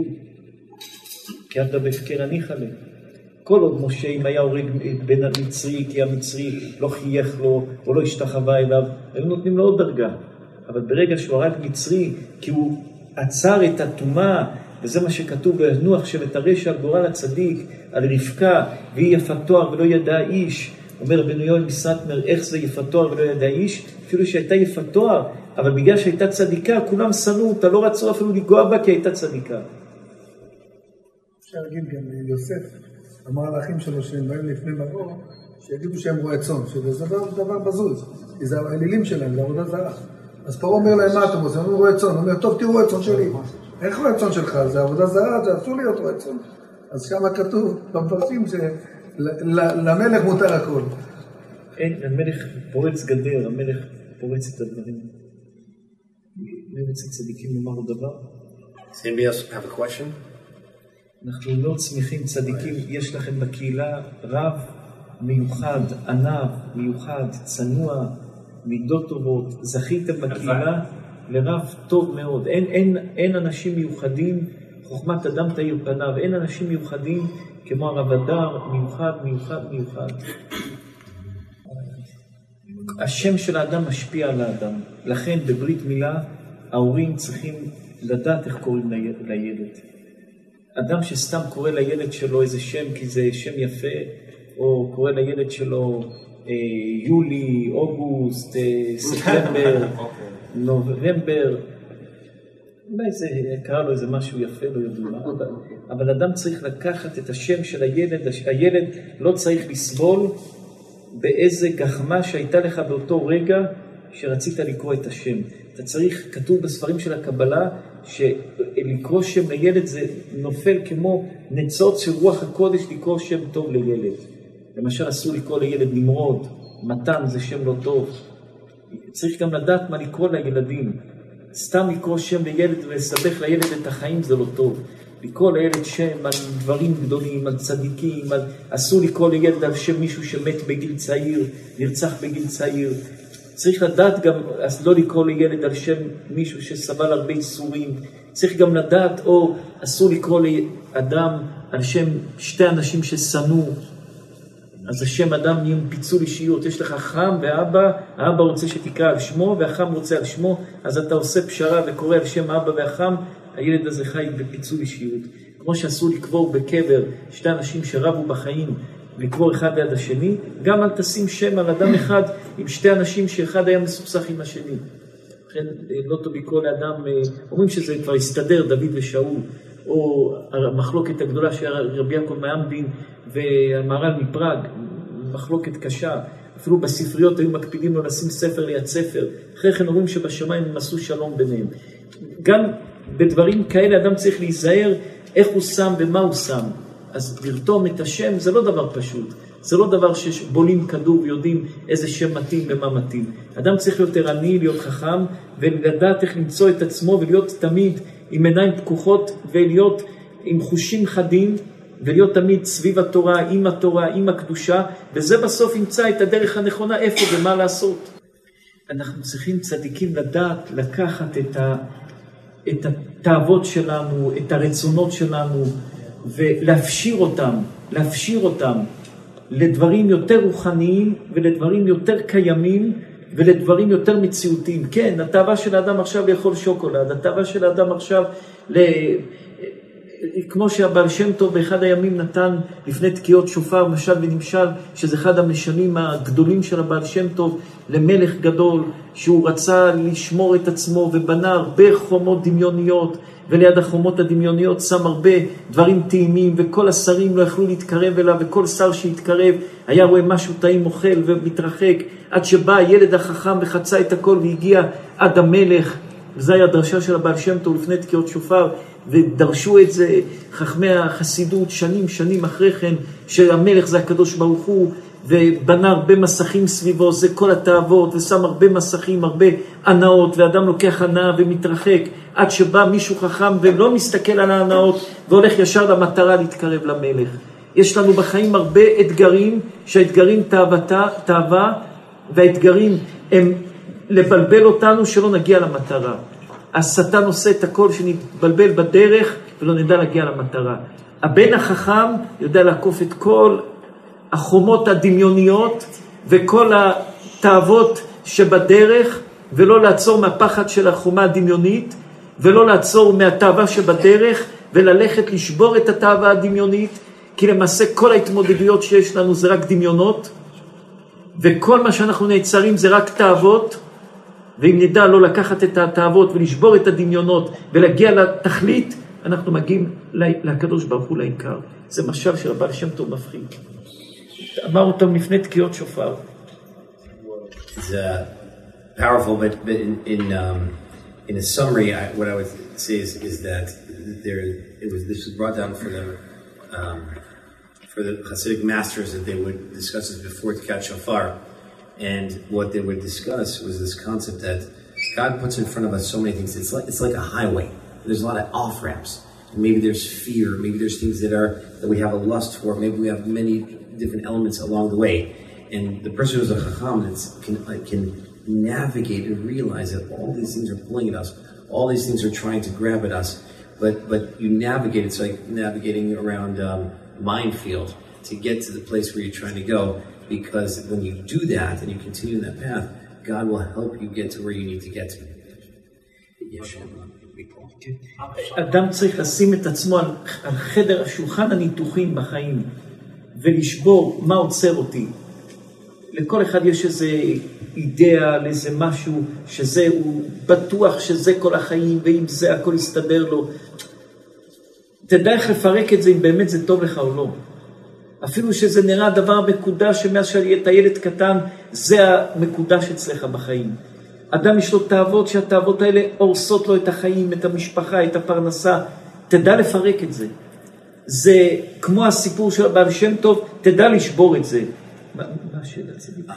S1: כי עבדה בהפקר הניחא ליה. כל עוד משה, אם היה הורג בן המצרי, כי המצרי לא חייך לו, או לא השתחווה אליו, היו נותנים לו עוד דרגה. אבל ברגע שהוא הרג מצרי, כי הוא עצר את הטומאה, וזה מה שכתוב בנוח, שבתרש על גורל הצדיק, על רבקה, והיא יפת תואר ולא ידע איש. אומר רבנו יואל מסטמר, איך זה יפת תואר ולא ידע איש? אפילו שהייתה יפת תואר, אבל בגלל שהייתה צדיקה, כולם שנאו אותה, לא רצו אפילו לגוע בה, כי הייתה צדיקה.
S3: אפשר להגיד גם יוסף, אמר לאחים שלו שהם באים לפני מבוא, שיגידו שהם רועי צאן, שזה דבר בזוז, כי זה האלילים שלהם, זה עבודה זרה. אז פרעה אומר להם, מה אתם עושים? הם רועי צאן, הוא אומר, טוב, תראו רועי צאן שלי. איך רועי צאן שלך? זה עבודה זרה, זה אסור להיות רועי צאן. אז שם כתוב, במפרשים, שלמלך מותר הכל.
S1: אין, המלך פורץ גדר, המלך פורץ את הדברים. מי רוצה צדיקים לומר דבר?
S4: Does anybody else have a question?
S1: אנחנו לא צמיחים צדיקים, יש לכם בקהילה רב מיוחד, ענב, מיוחד, צנוע, מידות טובות, זכיתם בקהילה לרב טוב מאוד. אין אנשים מיוחדים, חוכמת אדם תאיר פניו, אין אנשים מיוחדים כמו הרב הדר, מיוחד, מיוחד, מיוחד. השם של האדם משפיע על האדם, לכן בברית מילה ההורים צריכים לדעת איך קוראים לילד. אדם שסתם קורא לילד שלו איזה שם כי זה שם יפה, או קורא לילד שלו יולי, אוגוסט, ספטמבר, נובמבר, אולי זה קרא לו איזה משהו יפה, לא יודעים מה, אבל אדם צריך לקחת את השם של הילד, הילד לא צריך לסבול באיזה גחמה שהייתה לך באותו רגע שרצית לקרוא את השם. אתה צריך, כתוב בספרים של הקבלה, שלקרוא שם לילד זה נופל כמו ניצוץ של רוח הקודש לקרוא שם טוב לילד. למשל אסור לקרוא לילד נמרוד, מתן זה שם לא טוב. צריך גם לדעת מה לקרוא לילדים. סתם לקרוא שם לילד ולסבך לילד את החיים זה לא טוב. לקרוא לילד שם על דברים גדולים, על צדיקים, אסור לקרוא לילד על שם מישהו שמת בגיל צעיר, נרצח בגיל צעיר. צריך לדעת גם, אז לא לקרוא לילד על שם מישהו שסבל הרבה איסורים. צריך גם לדעת, או אסור לקרוא לאדם על שם שתי אנשים ששנאו. אז השם אדם נהיה פיצול אישיות. יש לך חם ואבא, האבא רוצה שתקרא על שמו, והחם רוצה על שמו, אז אתה עושה פשרה וקורא על שם האבא והחם, הילד הזה חי בפיצול אישיות. כמו שאסור לקבור בקבר שתי אנשים שרבו בחיים, לקבור אחד ליד השני, גם אל תשים שם על אדם אחד עם שתי אנשים שאחד היה מסוכסך עם השני. לכן לא טוב לקרוא לאדם, אומרים שזה כבר הסתדר, דוד ושאול, או המחלוקת הגדולה של רבי יעקב מאמדין והמהר"ל מפראג, מחלוקת קשה. אפילו בספריות היו מקפידים לו לשים ספר ליד ספר. אחרי כן אומרים שבשמיים הם עשו שלום ביניהם. גם בדברים כאלה אדם צריך להיזהר איך הוא שם ומה הוא שם. אז לרתום את השם זה לא דבר פשוט. זה לא דבר שבולים כדור ויודעים איזה שם מתאים ומה מתאים. אדם צריך להיות ערני, להיות חכם, ולדעת איך למצוא את עצמו ולהיות תמיד עם עיניים פקוחות ולהיות עם חושים חדים ולהיות תמיד סביב התורה, עם הקדושה, וזה בסוף ימצא את הדרך הנכונה איפה ומה לעשות. אנחנו צריכים צדיקים לדעת לקחת את התאוות שלנו, את הרצונות שלנו, ולהפשיר אותם לדברים יותר רוחניים ולדברים יותר קיימים ולדברים יותר מציאותיים. כן, התאווה של האדם עכשיו לאכול שוקולד, התאווה של האדם עכשיו כמו שהבעל שם טוב באחד הימים נתן לפני תקיעות שופר משל ונמשל, שזה אחד המשלים הגדולים של הבעל שם טוב למלך גדול, שהוא רצה לשמור את עצמו ובנה הרבה חומות דמיוניות, וליד החומות הדמיוניות שם הרבה דברים טעימים, וכל השרים לא יכלו להתקרב אליו, וכל שר שהתקרב היה רואה משהו טעים אוכל ומתרחק, עד שבא הילד החכם וחצה את הכל והגיע עד המלך. וזו היה הדרשה של הבעל שם טוב לפני תקיעות שופר, ודרשו את זה חכמי החסידות שנים אחרי כן, שהמלך זה הקדוש ברוך הוא, ובנה הרבה מסכים סביבו, זה כל התאוות, ושם הרבה מסכים, הרבה ענאות, ואדם לוקח ענאה ומתרחק, עד שבא מישהו חכם ולא מסתכל על הענאות, והולך ישר למטרה להתקרב למלך. יש לנו בחיים הרבה אתגרים, שהאתגרים תאווה, והאתגרים הם לבלבל אותנו שלא נגיע למטרה. השטן עושה את הכל שנתבלבל בדרך ולא נדע להגיע למטרה. הבן החכם יודע לעקוף את כל החומות הדמיוניות וכל התאוות שבדרך, ולא לעצור מהפחד של החומה הדמיונית, ולא לעצור מהתאווה שבדרך, וללכת לשבור את התאווה הדמיונית, כי למעשה כל ההתמודדויות שיש לנו זה רק דמיונות, וכל מה שאנחנו נעצרים זה רק תאוות, ואם נדע לא לקחת את התאוות ולשבור את הדמיונות ולהגיע לתכלית, אנחנו מגיעים לקדוש ברוך הוא לעיקר. זה משל של הבעל שם טוב מפחיד. אמר אותם לפני תקיעות שופר.
S2: It's powerful, but in a summary, what I would say is that this was brought down for the Hasidic masters that they would discuss this before Tkiat Shofar. And what they would discuss was this concept that God puts in front of us so many things. It's like a highway. There's a lot of off-ramps. Maybe there's fear. Maybe there's things that we have a lust for. Maybe we have many different elements along the way. And the person who's a chacham can navigate and realize that all these things are pulling at us. All these things are trying to grab at us. But you navigate. It's like navigating around a minefield to get to the place where you're trying to go. Because when you do that and you continue that path, God will help you get to where you need to get to.
S1: אדם צריך לשים את עצמו על חדר השולחן הניתוחים בחיים ולשבור מה עוצר אותי. לכל אחד יש איזה אידאה, איזה משהו שזה, הוא בטוח שזה כל החיים, ואם זה הכל יסתדר לו. תדע איך לפרק את זה אם באמת זה טוב לך או לא. אפילו שזה נראה דבר מקודש, שמאז שאתה ילד קטן, זה המקודש אצלך בחיים. אדם יש לו תאוות, שהתאוות האלה הורסות לו את החיים, את המשפחה, את הפרנסה. תדע לפרק את זה. זה כמו הסיפור של הבעל שם טוב, תדע לשבור את זה. מה השאלה?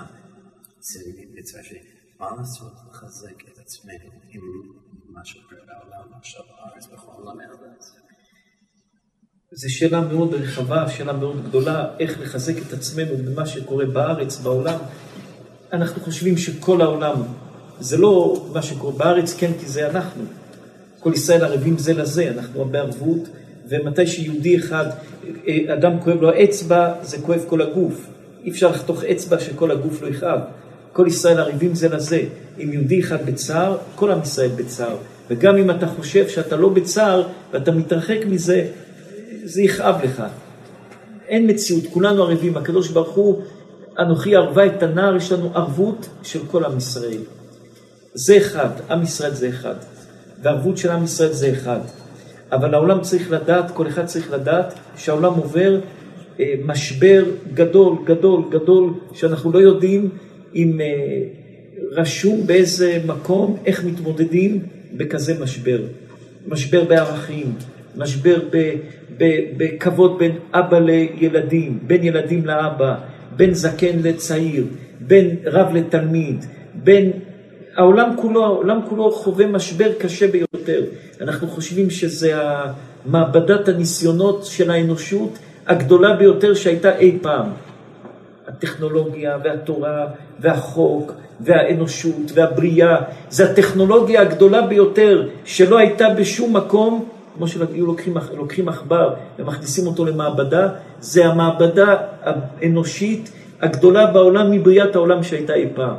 S2: מה לעשות לחזק את עצמנו עם מה שקורה בעולם עכשיו בארץ בכל העולם הזה?
S1: זו שאלה מאוד רחבה, שאלה מאוד גדולה, איך לחזק את עצמנו במה שקורה בארץ, בעולם. אנחנו חושבים שכל העולם, זה לא מה שקורה בארץ, כן, כי זה אנחנו. כל ישראל ערבים זה לזה, אנחנו בערבות, ומתי שיהודי אחד, אדם כואב לו האצבע, זה כואב כל הגוף. אי אפשר לחתוך אצבע שכל הגוף לא יכאב. כל ישראל ערבים זה לזה. אם יהודי אחד בצער, כל עם ישראל בצער. וגם אם אתה חושב שאתה לא בצער, ואתה מתרחק מזה, זה יכאב לך. אין מציאות, כולנו ערבים. הקדוש ברוך הוא, אנוכי ערבה את הנער, יש לנו ערבות של כל עם ישראל. זה אחד, עם ישראל זה אחד. והערבות של עם ישראל זה אחד. אבל העולם צריך לדעת, כל אחד צריך לדעת, שהעולם עובר משבר גדול, גדול, גדול, שאנחנו לא יודעים אם רשום באיזה מקום, איך מתמודדים בכזה משבר. משבר בערכים, משבר בכבוד בין אבא לילדים, בין ילדים לאבא, בין זקן לצעיר, בין רב לתלמיד, בין העולם כולו חווה משבר קשה ביותר. אנחנו חושבים שזה מעבדת הניסיונות של האנושות הגדולה ביותר שהייתה אי פעם. הטכנולוגיה והתורה והחוק והאנושות והבריאה. זה הטכנולוגיה הגדולה ביותר שלא הייתה בשום מקום, כמו שהיו לוקחים עכבר ומכניסים אותו למעבדה, זה המעבדה האנושית הגדולה בעולם מבריאת העולם שהייתה אי פעם.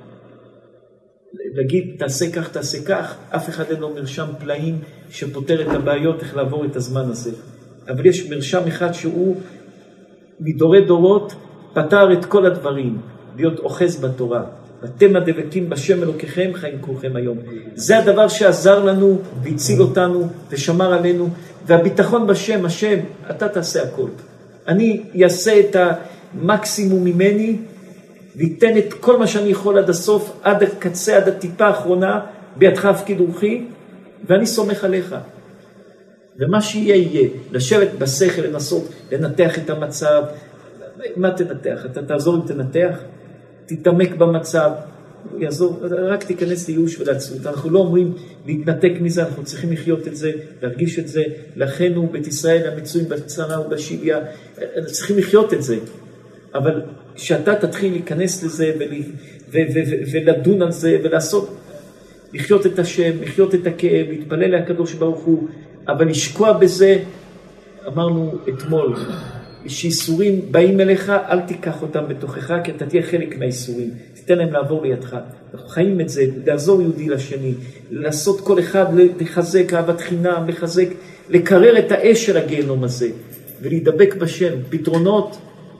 S1: להגיד תעשה כך, תעשה כך, אף אחד אין לו מרשם פלאים שפותר את הבעיות, איך לעבור את הזמן הזה. אבל יש מרשם אחד שהוא מדורי דורות פתר את כל הדברים, להיות אוחז בתורה. אתם הדבקים בשם אלוקיכם חיים כולכם היום. זה הדבר שעזר לנו והציל אותנו ושמר עלינו, והביטחון בשם, השם, אתה תעשה הכל. אני אעשה את המקסימום ממני, ויתן את כל מה שאני יכול עד הסוף, עד הקצה, עד הטיפה האחרונה, בידך הפקיד רוחי, ואני סומך עליך. ומה שיהיה יהיה, לשבת בשכל, לנסות, לנתח את המצב. מה תנתח? אתה תעזור אם תנתח? תתעמק במצב, יעזור, רק תיכנס לייאוש ולעצמות. אנחנו לא אומרים להתנתק מזה, אנחנו צריכים לחיות את זה, להרגיש את זה, לאחינו בית ישראל המצויים בצרה ובשביה, צריכים לחיות את זה. אבל שאתה תתחיל להיכנס לזה ולדון על זה ולעשות, לחיות את השם, לחיות את הכאב, להתפלל לקדוש ברוך הוא, אבל לשקוע בזה, אמרנו אתמול, שאיסורים באים אליך, אל תיקח אותם בתוכך, כי אתה תהיה חלק מהאיסורים, תיתן להם לעבור לידך. אנחנו חיים את זה, לעזור יהודי לשני, לעשות כל אחד, לחזק אהבת חינם, לחזק, לקרר את האש של הגיהנום הזה, ולהידבק בשם. פתרונות,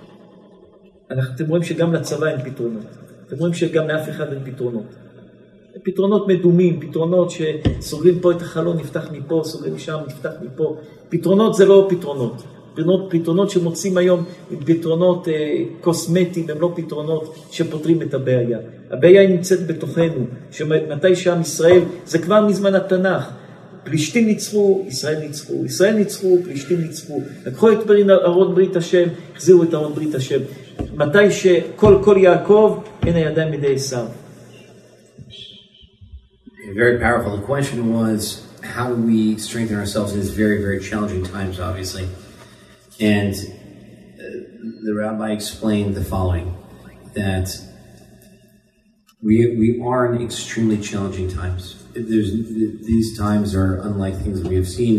S1: אתם רואים שגם לצבא אין פתרונות, אתם רואים שגם לאף אחד אין פתרונות. פתרונות מדומים, פתרונות שסוגרים פה את החלון, נפתח מפה, סוגרים משם, נפתח מפה. פתרונות זה לא פתרונות. פתרונות שמוצאים היום עם פתרונות קוסמטיים, הם לא פתרונות שפותרים את הבעיה. הבעיה היא נמצאת בתוכנו, שמתי שעם ישראל, זה כבר מזמן התנ"ך, פלישתים ניצחו, ישראל ניצחו, ישראל ניצחו, פלישתים ניצחו, לקחו את ארון ברית השם, החזירו את ארון ברית השם. מתי שכל יעקב, אין הידיים מידי עשיו.
S2: Very powerful. The question was, how do we strengthen ourselves in these very, very challenging times, obviously? And the rabbi explained the following, that we are in extremely challenging times. These times are unlike things that we have seen,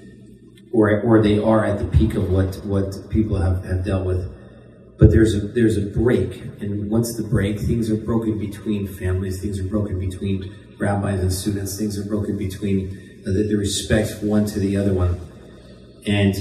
S2: or they are at the peak of what people have dealt with. But there's a break, and once the break, things are broken between families, things are broken between rabbis and students, things are broken between the respect one to the other one. And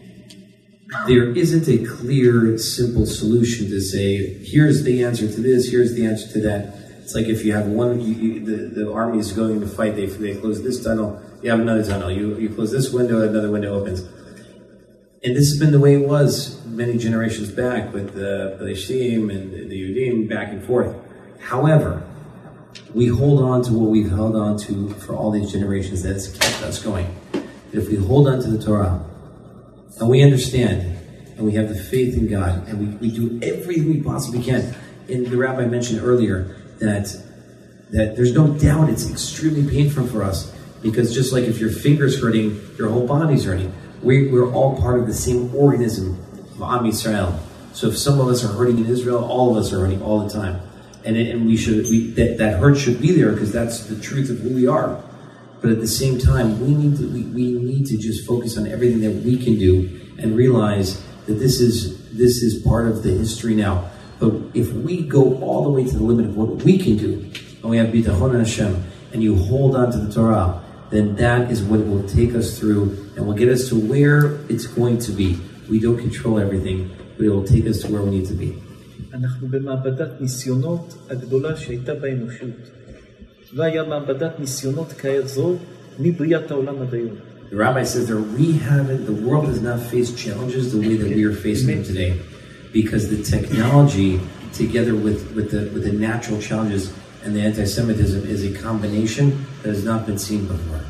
S2: there isn't a clear, simple solution to say, here's the answer to this, here's the answer to that. It's like if you have the army is going to fight, they close this tunnel, you have another tunnel, you close this window, another window opens. And this has been the way it was many generations back with the Palestine and the Yudim back and forth. However, we hold on to what we've held on to for all these generations that has kept us going. If we hold on to the Torah, and we understand, and we have the faith in God, and we do everything we possibly can. And the rabbi mentioned earlier that there's no doubt it's extremely painful for us, because just like if your finger's hurting, your whole body's hurting. We're all part of the same organism of Am Yisrael. So if some of us are hurting in Israel, all of us are hurting all the time. And that hurt should be there because that's the truth of who we are. But at the same time, we need to just focus on everything that we can do and realize that this is part of the history now. But if we go all the way to the limit of what we can do, and we have bitachon and Hashem, and you hold on to the Torah, then that is what will take us through and will get us to where it's going to be. We don't control everything, but it will take us to where we need to be.
S1: אנחנו במעבדת ניסיונות הגדולה שהייתה באנושות. לא היה מעבדת ניסיונות כזו מבריאת העולם עד היום.
S2: The rabbi says that the world has not faced challenges the way that we are facing them today, because the technology, together with the natural challenges and the anti-Semitism, is a combination that has not been seen before.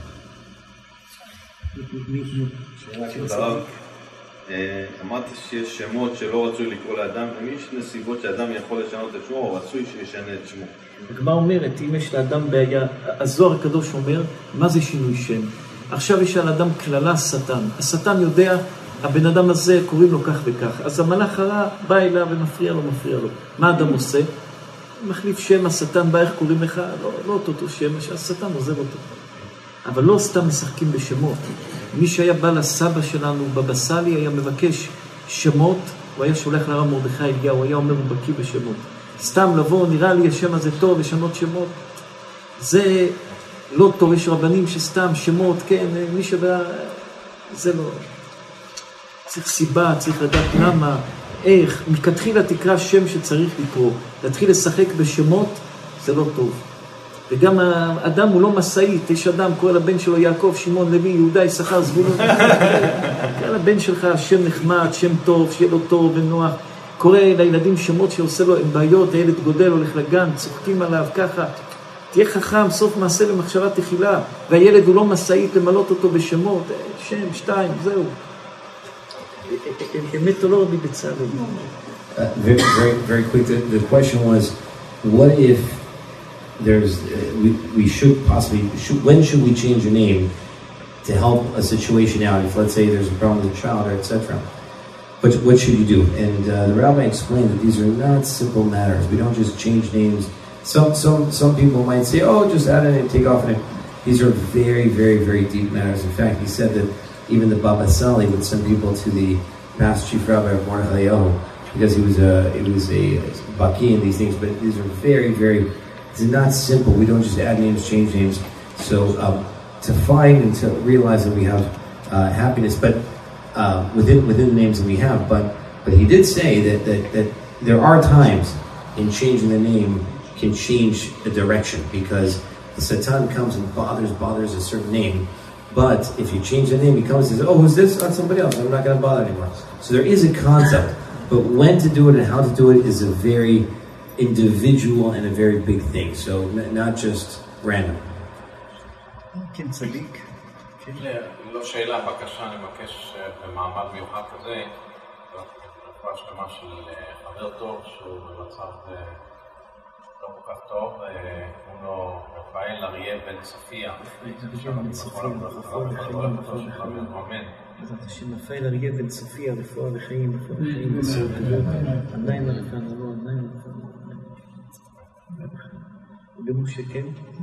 S7: אמרת שיש שמות שלא רצוי לקרוא לאדם, ויש נסיבות שאדם יכול לשנות את שמו, או רצוי שישנה את שמו.
S1: הגמרא אומרת, אם יש לאדם בעיה, הזוהר הקדוש אומר, מה זה שינוי שם? עכשיו יש על אדם כללה שטן. השטן יודע, הבן אדם הזה קוראים לו כך וכך. אז המלאך הרע בא אליו ומפריע לו. מה אדם עושה? מחליף שם, השטן בא, איך קוראים לך? לא אותו שם, השטן עוזב אותו. אבל לא סתם משחקים בשמות. מי שהיה בא לסבא שלנו בבא סאלי היה מבקש שמות, הוא היה שולח לרב מרדכי אליהו, הוא היה אומר הוא בקיא בשמות. סתם לבוא, נראה לי השם הזה טוב, לשנות שמות. זה לא טוב, יש רבנים שסתם שמות, כן, מי שבא, זה לא. צריך סיבה, צריך לדעת למה, איך, מכתחילה תקרא שם שצריך לקרוא, להתחיל לשחק בשמות, זה לא טוב. וגם האדם הוא לא מסעית, יש אדם, קורא לבן שלו יעקב, שמעון, לוי, יהודה, יששכר, זבולון. קורא לבן שלך שם נחמד, שם טוב, שיהיה לו טוב ונוח. קורא לילדים שמות שעושה לו בעיות, הילד גודל, הולך לגן, צוחקים עליו, ככה. תהיה חכם, סוף מעשה למחשבה תחילה. והילד הוא לא מסעית למלות אותו בשמות, שם, שתיים, זהו. אמת או לא רבי בצלאל?
S2: Very quick, the question was, what if there's, we should possibly, when should we change a name to help a situation out? If let's say there's a problem with a child or etc. But what should you do? And the rabbi explained that these are not simple matters. We don't just change names. Some people might say, oh, just add a name, take off a name. These are very deep matters. In fact, he said that even the Baba Sali would send people to the past chief rabbi of Mordechai Eliyahu because he was a baki in these things. But these are very, it's not simple. We don't just add names, change names. So to find and to realize that we have happiness, but within the names that we have. But he did say that there are times in changing the name can change the direction because the Satan comes and bothers a certain name. But if you change the name, he comes and says, oh, who's this? Not somebody else. I'm not going to bother anymore. So there is a concept. But when to do it and how to do it is a very individual and a very big thing. So not just random.
S1: כן, צדיק.
S7: לא שאלה, בקשה, אני מבקש במעמד מיוחד כזה, רפואה שלמה של חבר טוב שהוא במצב לא כל כך טוב, קוראים לו רפאל אריה בן צופיה.
S1: רפאל אריה בן צופיה, רפואה וחיים, עדיין הרפאל, עדיין במשה, כן?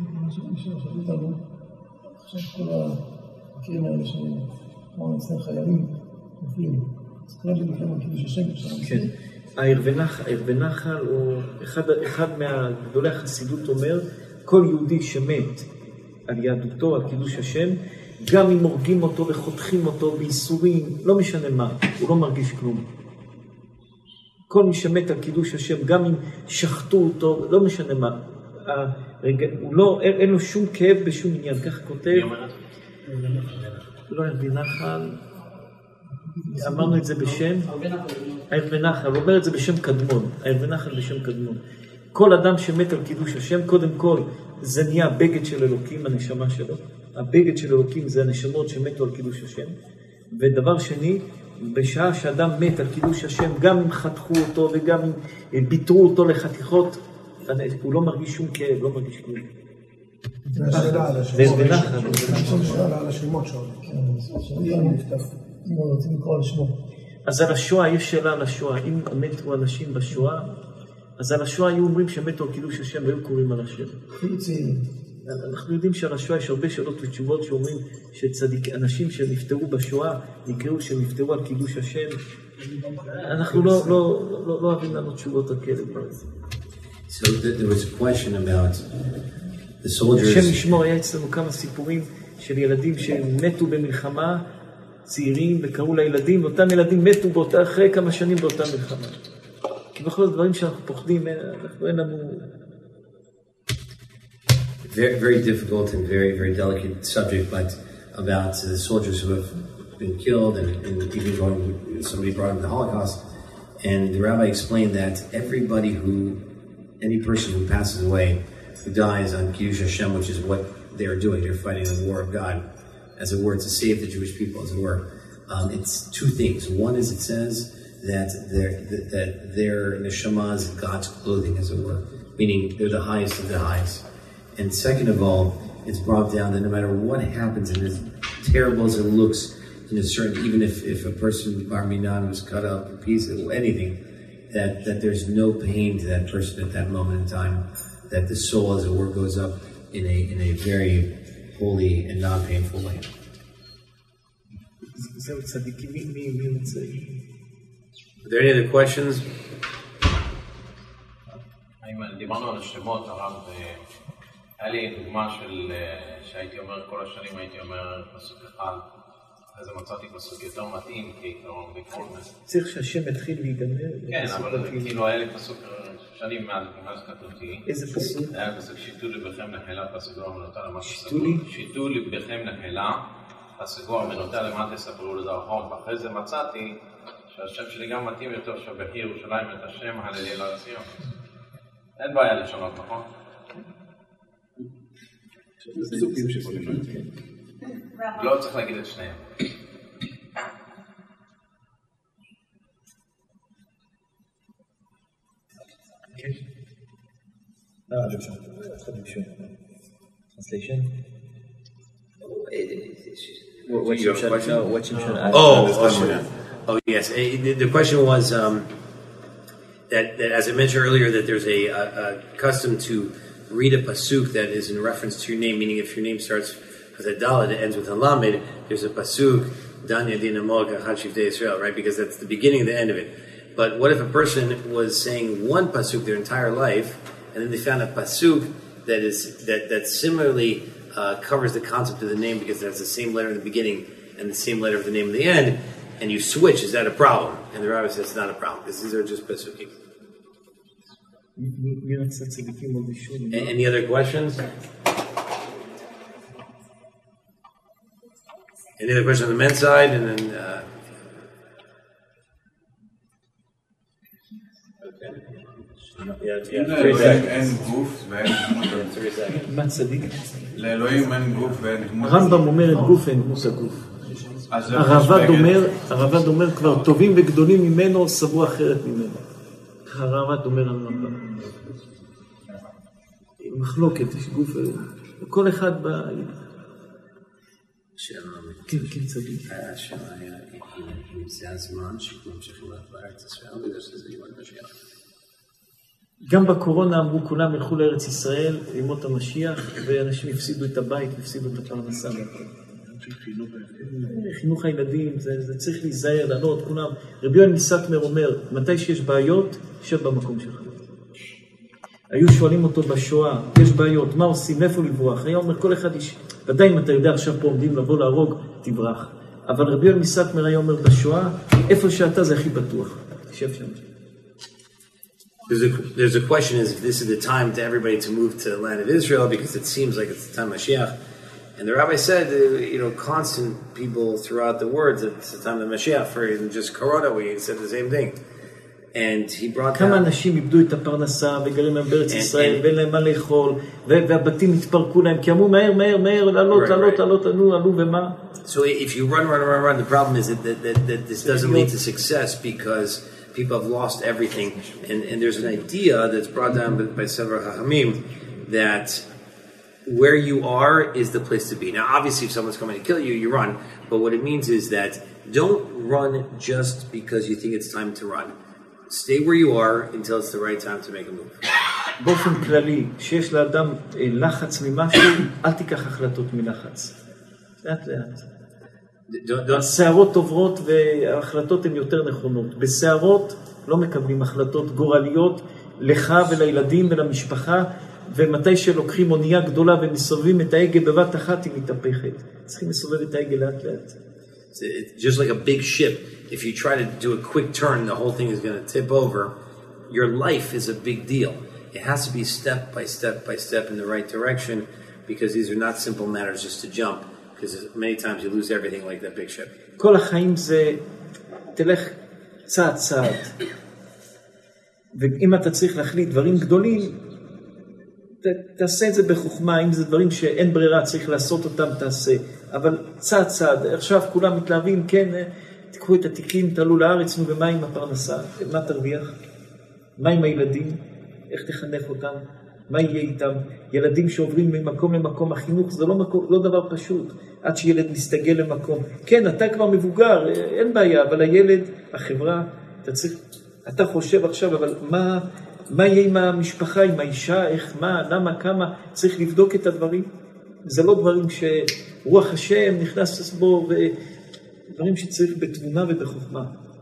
S3: עכשיו כל המקרים האלה שאמרנו אצלם חיילים, נופלים. אז כל הדברים לכם על קידוש השם.
S1: כן. העיר ונחל הוא אחד מהגדולי החסידות אומר, כל יהודי שמת על יהדותו, על קידוש השם, גם אם הורגים אותו וחותכים אותו בייסורים, לא משנה מה, הוא לא מרגיש כלום. כל מי שמת על קידוש השם, גם אם שחטו אותו, לא משנה מה. אין לו שום כאב בשום עניין, כך כותב. לא העיר ונחל. אמרנו את זה בשם העיר ונחל, הוא אומר את זה בשם קדמון, העיר ונחל בשם קדמון. כל אדם שמת על קידוש השם, קודם כל זה נהיה הבגד של אלוקים, הנשמה שלו. הבגד של אלוקים זה הנשמות שמתו על קידוש השם. ודבר שני, בשעה שאדם מת על קידוש השם, גם אם חתכו אותו וגם אם ביטרו אותו לחתיכות, הוא לא מרגיש שום כאב, לא מרגיש כלום.
S3: זה השאלה על השמות. זה שאלה על השמות שלו. אם רוצים לקרוא על שמו.
S1: אז על השואה, יש שאלה על השואה. אם מתו אנשים בשואה, אז על השואה היו אומרים שמתו על קידוש השם והיו קוראים על השם. אנחנו יודעים שעל השואה יש הרבה שאלות ותשובות שאומרים שאנשים שנפטרו בשואה נקראו שנפטרו על קידוש השם. אנחנו לא אוהבים לנו תשובות על כאלה.
S2: So there was a question about the soldiers.
S1: השם ישמור, היה אצלנו כמה סיפורים של ילדים שמתו במלחמה, צעירים, וקראו לילדים, אותם ילדים מתו אחרי כמה שנים באותה מלחמה. כי בכל הדברים שאנחנו פוחדים, אנחנו אין לנו...
S2: Very difficult and very delicate subject, but about the soldiers who have been killed and even somebody brought up the Holocaust. And the rabbi explained that any person who passes away, who dies on Kiddush Hashem, which is what they are doing, they're fighting the war of God, as it were, to save the Jewish people, as it were. It's two things. One is it says that their neshama is God's clothing, as it were, meaning they're the highest of the highest. And second of all, it's brought down that no matter what happens, and as terrible as it looks, in a certain, even if a person, Bar Minan, was cut up in pieces, anything, that there's no pain to that person at that moment in time, that the soul, as it were, goes up in a very holy and non-painful way.
S1: זהו צדיקים, מי רוצה?
S2: Are there any other questions?
S7: דיברנו על השמות, הרב, היה לי דוגמה שהייתי אומר כל השנים, הייתי אומר פסוק אחד, אז מצאתי פסוק יותר מתאים, כעיקרון בכל זה.
S1: צריך שהשם יתחיל להיגמר.
S7: כן, אבל כאילו היה לי פסוק שנים מאז כתובתי.
S1: איזה פסוק?
S7: היה פסוק שיתו לבכם נחלה, פסגור מנותה למטה ספרו.
S1: שיתו לי?
S7: שיתו לבכם נחלה, פסגור מנותה למטה ספרו לדרכון. ואחרי זה מצאתי שהשם שלי גם מתאים יותר שבהי ירושלים את השם הללי לציון. אין בעיה לשנות, נכון? לא צריך להגיד את שניהם.
S5: Translation?
S2: Oh, yes. The question was that as I mentioned earlier, that there's a custom to read a pasuk that is in reference to your name, meaning if your name starts with a Dalet, it ends with a Lamed, there's a pasuk, Dan Yadin Amog Achad Shivtei Yisrael, right? Because that's the beginning and the end of it. But what if a person was saying one pasuk their entire life, and then they found a pasuk that similarly covers the concept of the name because it has the same letter in the beginning and the same letter of the name in the end, and you switch, is that a problem? And the rabbi says it's not a problem, because these are just pasukim. Any other questions? Any other questions on the men's side? And then
S8: אין גוף ואין דמות.
S1: מה צדיק?
S8: לאלוהים אין גוף ואין דמות.
S1: הרמב"ם אומר את גוף אין דמות הגוף. הרמב"ם אומר כבר טובים וגדולים ממנו סברו אחרת ממנו. הרמב"ם אומר על הרמב"ם. מחלוקת, יש גוף, כל אחד בא... כן, כן, צדיק.
S2: השאלה היה אם זה הזמן שכולם צריכים לארץ ישראל, בגלל שזה יום המשיח.
S1: גם בקורונה אמרו כולם ילכו לארץ ישראל, לימות המשיח, ואנשים הפסידו את הבית, הפסידו את הפרנסה. חינוך הילדים, זה צריך להיזהר, לענות, כולם. רבי יואל מסטמר אומר, מתי שיש בעיות, שב במקום שלך. היו שואלים אותו בשואה, יש בעיות, מה עושים, איפה לברוח? היה אומר, כל אחד איש, ודאי אם אתה יודע עכשיו פה עומדים לבוא להרוג, תברח. אבל רבי יואל מסטמר היה אומר בשואה, איפה שאתה זה הכי בטוח. שב שם.
S2: There's a question is if this is the time to everybody to move to the land of Israel because it seems like it's the time of Mashiach. And the rabbi said, constant people throughout the words, it's the time of Mashiach. For just Corona, we said the same thing. And he brought
S1: כמה אנשים איבדו את הפרנסה וגרים להם בארץ ישראל ואין להם מה לאכול והבתים התפרקו להם כי אמרו מהר, לעלות, עלו ומה?
S2: So if you run, the problem is that this doesn't lead to success because people have lost everything. And there's an idea that's brought down by several Chachamim that where you are is the place to be. Now, obviously, if someone's coming to kill you, you run. But what it means is that don't run just because you think it's time to run. Stay where you are until it's the right time to make a move.
S1: באופן כללי, שיש לאדם לחץ ממשהו, אל תיקח החלטות מלחץ. לאט. הסערות עוברות וההחלטות הן יותר נכונות. בסערות לא מקבלים החלטות גורליות לך ולילדים ולמשפחה, ומתי שלוקחים אונייה גדולה ומסובבים את ההגה בבת אחת היא מתהפכת. צריכים לסובב את ההגה לאט.
S2: It's just like a big ship. If you try to do a quick turn, the whole thing is going to tip over. Your life is a big deal. It has to be step by step in the right direction because these are not simple matters just to jump. Because many times you lose everything like that big ship.
S1: כל החיים זה, תלך צעד. ואם אתה צריך להחליט דברים גדולים, תעשה את זה בחוכמה. אם זה דברים שאין ברירה, צריך לעשות אותם, תעשה. אבל צעד. עכשיו כולם מתלהבים, כן, תיקחו את התיקים, תעלו לארץ, ומה עם הפרנסה? מה תרוויח? מה עם הילדים? איך תחנך אותם? מה יהיה איתם? ילדים שעוברים ממקום למקום, החינוך זה לא דבר פשוט, עד שילד מסתגל למקום. כן, אתה כבר מבוגר, אין בעיה, אבל הילד, החברה, אתה צריך אתה חושב עכשיו, אבל מה יהיה עם המשפחה, עם האישה, איך, מה, למה, כמה, צריך לבדוק את הדברים. זה לא דברים שרוח השם נכנס בו, ודברים שצריך בתבונה ובחוכמה.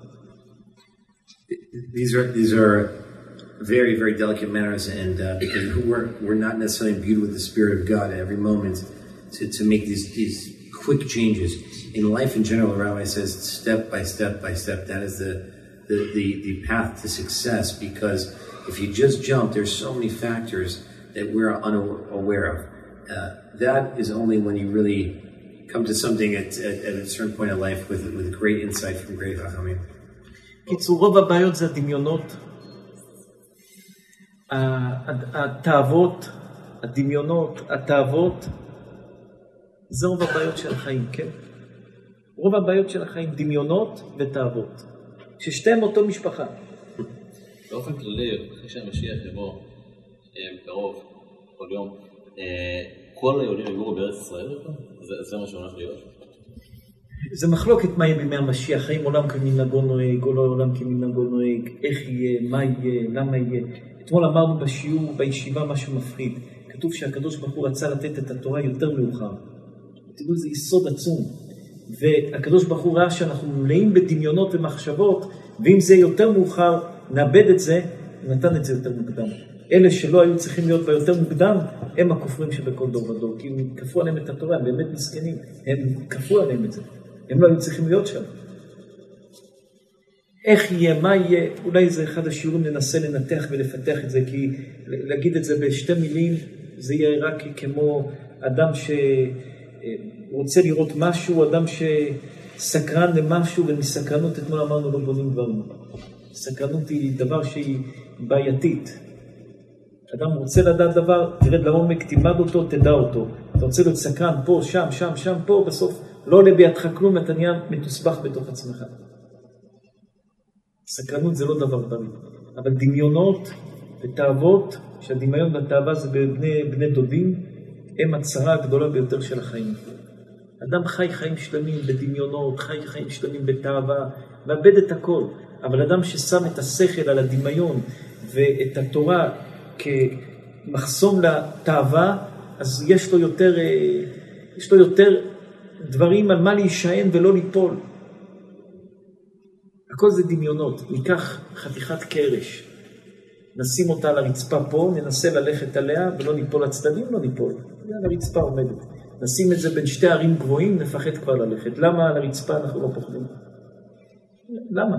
S2: These are very, very delicate matters, and because we're not necessarily imbued with the Spirit of God at every moment to make these quick changes. In life in general, the Rabbi says step by step by step. That is the path to success, because if you just jump, there's so many factors that we're unaware of. That is only when you really come to something at a certain point in life with great insight from great Chachamim.
S1: קיצור, רוב הבעיות זה הדמיונות, התאוות, הדמיונות, התאוות, זה רוב הבעיות של החיים, כן? רוב הבעיות של החיים, דמיונות ותאוות, ששתיהם אותו משפחה.
S9: באופן כללי, אחרי שהמשיח יבוא קרוב, כל יום, כל היהודים יגורו בארץ ישראל, זה מה שהולך להיות.
S1: זה מחלוקת מה יהיה בימי המשיח, האם עולם כמנהגו נוהג, או לא עולם כמנהגו נוהג, איך יהיה, מה יהיה, למה יהיה. אתמול אמרנו בשיעור, בישיבה, משהו מפחיד. כתוב שהקדוש ברוך הוא רצה לתת את התורה יותר מאוחר. תדעו, זה יסוד עצום. והקדוש ברוך הוא ראה שאנחנו מלאים בדמיונות ומחשבות, ואם זה יותר מאוחר, נאבד את זה, נתן את זה יותר מוקדם. אלה שלא היו צריכים להיות ביותר מוקדם, הם הכופרים שבכל דור ודור, כי הם כפו עליהם את התורה, הם באמת מסכנים, הם כפו עליהם את זה, הם לא היו צריכים להיות שם. איך יהיה, מה יהיה, אולי זה אחד השיעורים, ננסה לנתח ולפתח את זה, כי להגיד את זה בשתי מילים, זה יהיה רק כמו אדם שרוצה לראות משהו, אדם שסקרן למשהו, ומסקרנות אתמול אמרנו לא בונים דברים. סקרנות היא דבר שהיא בעייתית. אדם רוצה לדעת דבר, תרד לעומק, תלמד אותו, תדע אותו. אתה רוצה להיות סקרן פה, שם, שם, שם, פה, בסוף לא עולה בידך כלום, אתה נהיה מתוסבך בתוך עצמך. סקרנות זה לא דבר בריא. אבל דמיונות ותאוות, שהדמיון והתאווה זה בני דודים, הם הצרה הגדולה ביותר של החיים. אדם חי חיים שלמים בדמיונות, חי חיים שלמים בתאווה, מאבד את הכל. אבל אדם ששם את השכל על הדמיון ואת התורה כמחסום לתאווה, אז יש לו יותר דברים על מה להישען ולא ליפול. הכל זה דמיונות. ניקח חתיכת קרש, נשים אותה על הרצפה פה, ננסה ללכת עליה ולא ניפול לצדדים, לא ניפול. על הרצפה עומדת. נשים את זה בין שתי ערים גבוהים, נפחד כבר ללכת. למה על הרצפה אנחנו לא פוחדים? למה?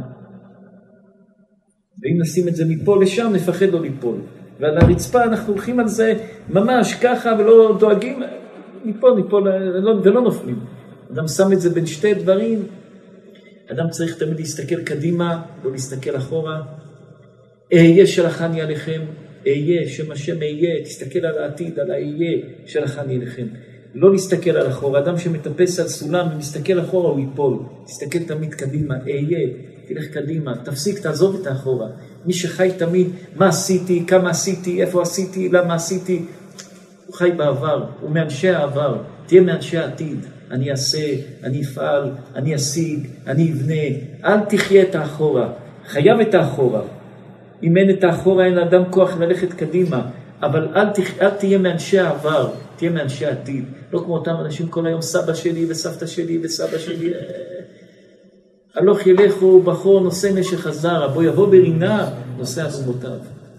S1: ואם נשים את זה מפה לשם, נפחד לא ליפול. ועל הרצפה אנחנו הולכים על זה ממש ככה ולא דואגים, ניפול ולא נופלים. אדם שם את זה בין שתי דברים, אדם צריך תמיד להסתכל קדימה, לא להסתכל אחורה. אהיה שלחני עליכם, אהיה, שם השם אהיה, תסתכל על העתיד, על האהיה שלחני עליכם. לא להסתכל על אחורה, אדם שמטפס על סולם ומסתכל אחורה הוא ייפול. תסתכל תמיד קדימה, אהיה, תלך קדימה, תפסיק, תעזוב את האחורה. מי שחי תמיד, מה עשיתי, כמה עשיתי, איפה עשיתי, למה עשיתי, הוא חי בעבר, הוא מאנשי העבר, תהיה מאנשי העתיד. אני אעשה, אני אפעל, אני אשיג, אני אבנה, אל תחיה את האחורה, חייב את האחורה. אם אין את האחורה, אין לאדם כוח ללכת קדימה, אבל אל תהיה מאנשי העבר, תהיה מאנשי העתיד. לא כמו אותם אנשים כל היום, סבא שלי וסבתא שלי וסבא שלי. הלוך ילכו בחור נושא נשך הזרע, בוא יבוא ברינה נושא אדמותיו.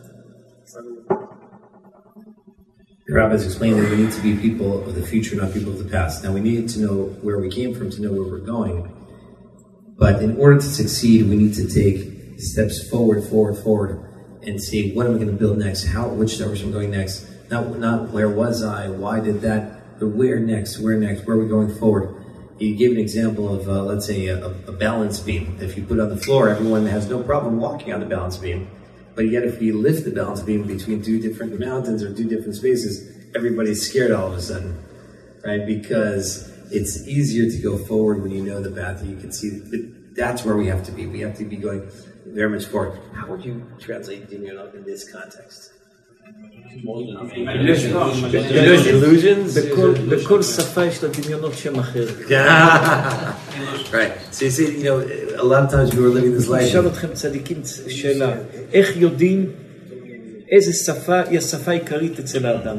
S2: The Rabbi is explaining that we need to be people of the future, not people of the past. Now we need to know where we came from to know where we're going. But in order to succeed, we need to take steps forward, and see what am I going to build next? Which direction am I going next? Not where was I? Why did that? But where next? Where are we going forward? He gave an example of, let's say, a balance beam. If you put it on the floor, everyone has no problem walking on the balance beam. But yet if we lift the balance beam between two different mountains or two different spaces, everybody's scared all of a sudden, right? Because it's easier to go forward when you know the path that you can see. But that's where we have to be. We have to be going very much forward. How would you translate Dinyon in this context?
S1: בכל שפה יש לה דמיונות שם אחר.
S2: Right. So you see, a lot of times we were living this life.
S1: נשאל אתכם צדיקים שאלה, איך יודעים איזה שפה היא השפה העיקרית אצל האדם?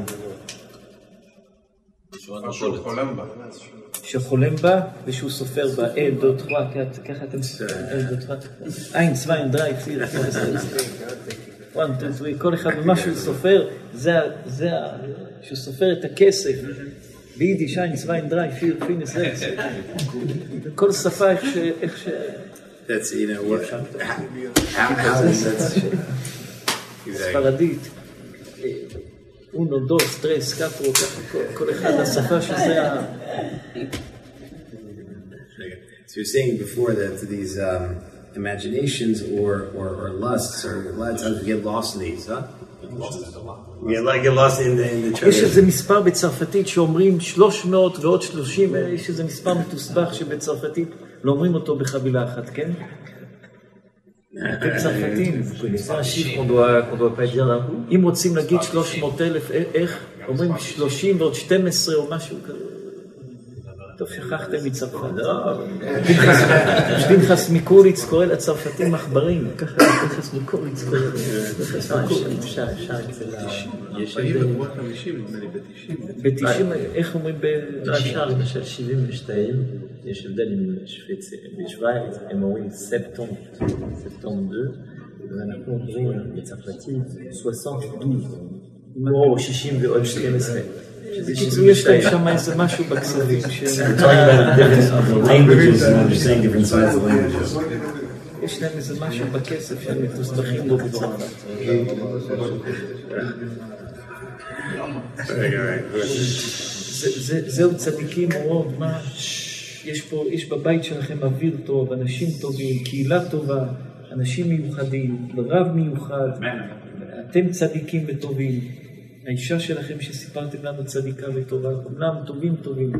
S1: שחולם בה ושהוא סופר בה, ככה אתם סופרים, אין, צוויין, דרי, פיר, כל אחד ממה שהוא סופר, זה שהוא סופר את הכסף, ביידיש, אין, צוויין, דרי, פיר, פינס, כל שפה איך ש...
S2: That's, what...
S1: ספרדית. אונו, דוס, טרס, קטרו, כל אחד השפה שזה ה...
S2: So you're saying before that these imaginations or lusts, or a lot of times we get lost in these, huh? We get lost in the church.
S1: יש איזה מספר בצרפתית שאומרים 300 ועוד 30, יש איזה מספר מתוסבך שבצרפתית לא אומרים אותו בחבילה אחת, כן? אתם צרפתים. אם רוצים להגיד 300,000, איך? אומרים 30 ועוד 12 או משהו כזה. טוב, שכחתם מצרפת. פנחס מקוריץ קורא לצרפתים מחברים. ככה פנחס מקוריץ קורא לצרפתים.
S9: יש
S1: ב-90, איך אומרים
S5: בשער, למשל 72, יש הבדל עם בשוויץ, הם אומרים ספטום 2, ואנחנו אומרים בצרפתית 62, או 60 ועוד 12.
S1: בקיצור, יש להם שם איזה משהו בכספים יש להם איזה משהו בכסף שהם מתוסבכים בו בצרפת. זהו צדיקים מאוד, מה יש בבית שלכם אוויר טוב, אנשים טובים, קהילה טובה, אנשים מיוחדים, רב מיוחד, אתם צדיקים וטובים. האישה שלכם שסיפרתם לנו צדיקה וטובה, כולם טובים.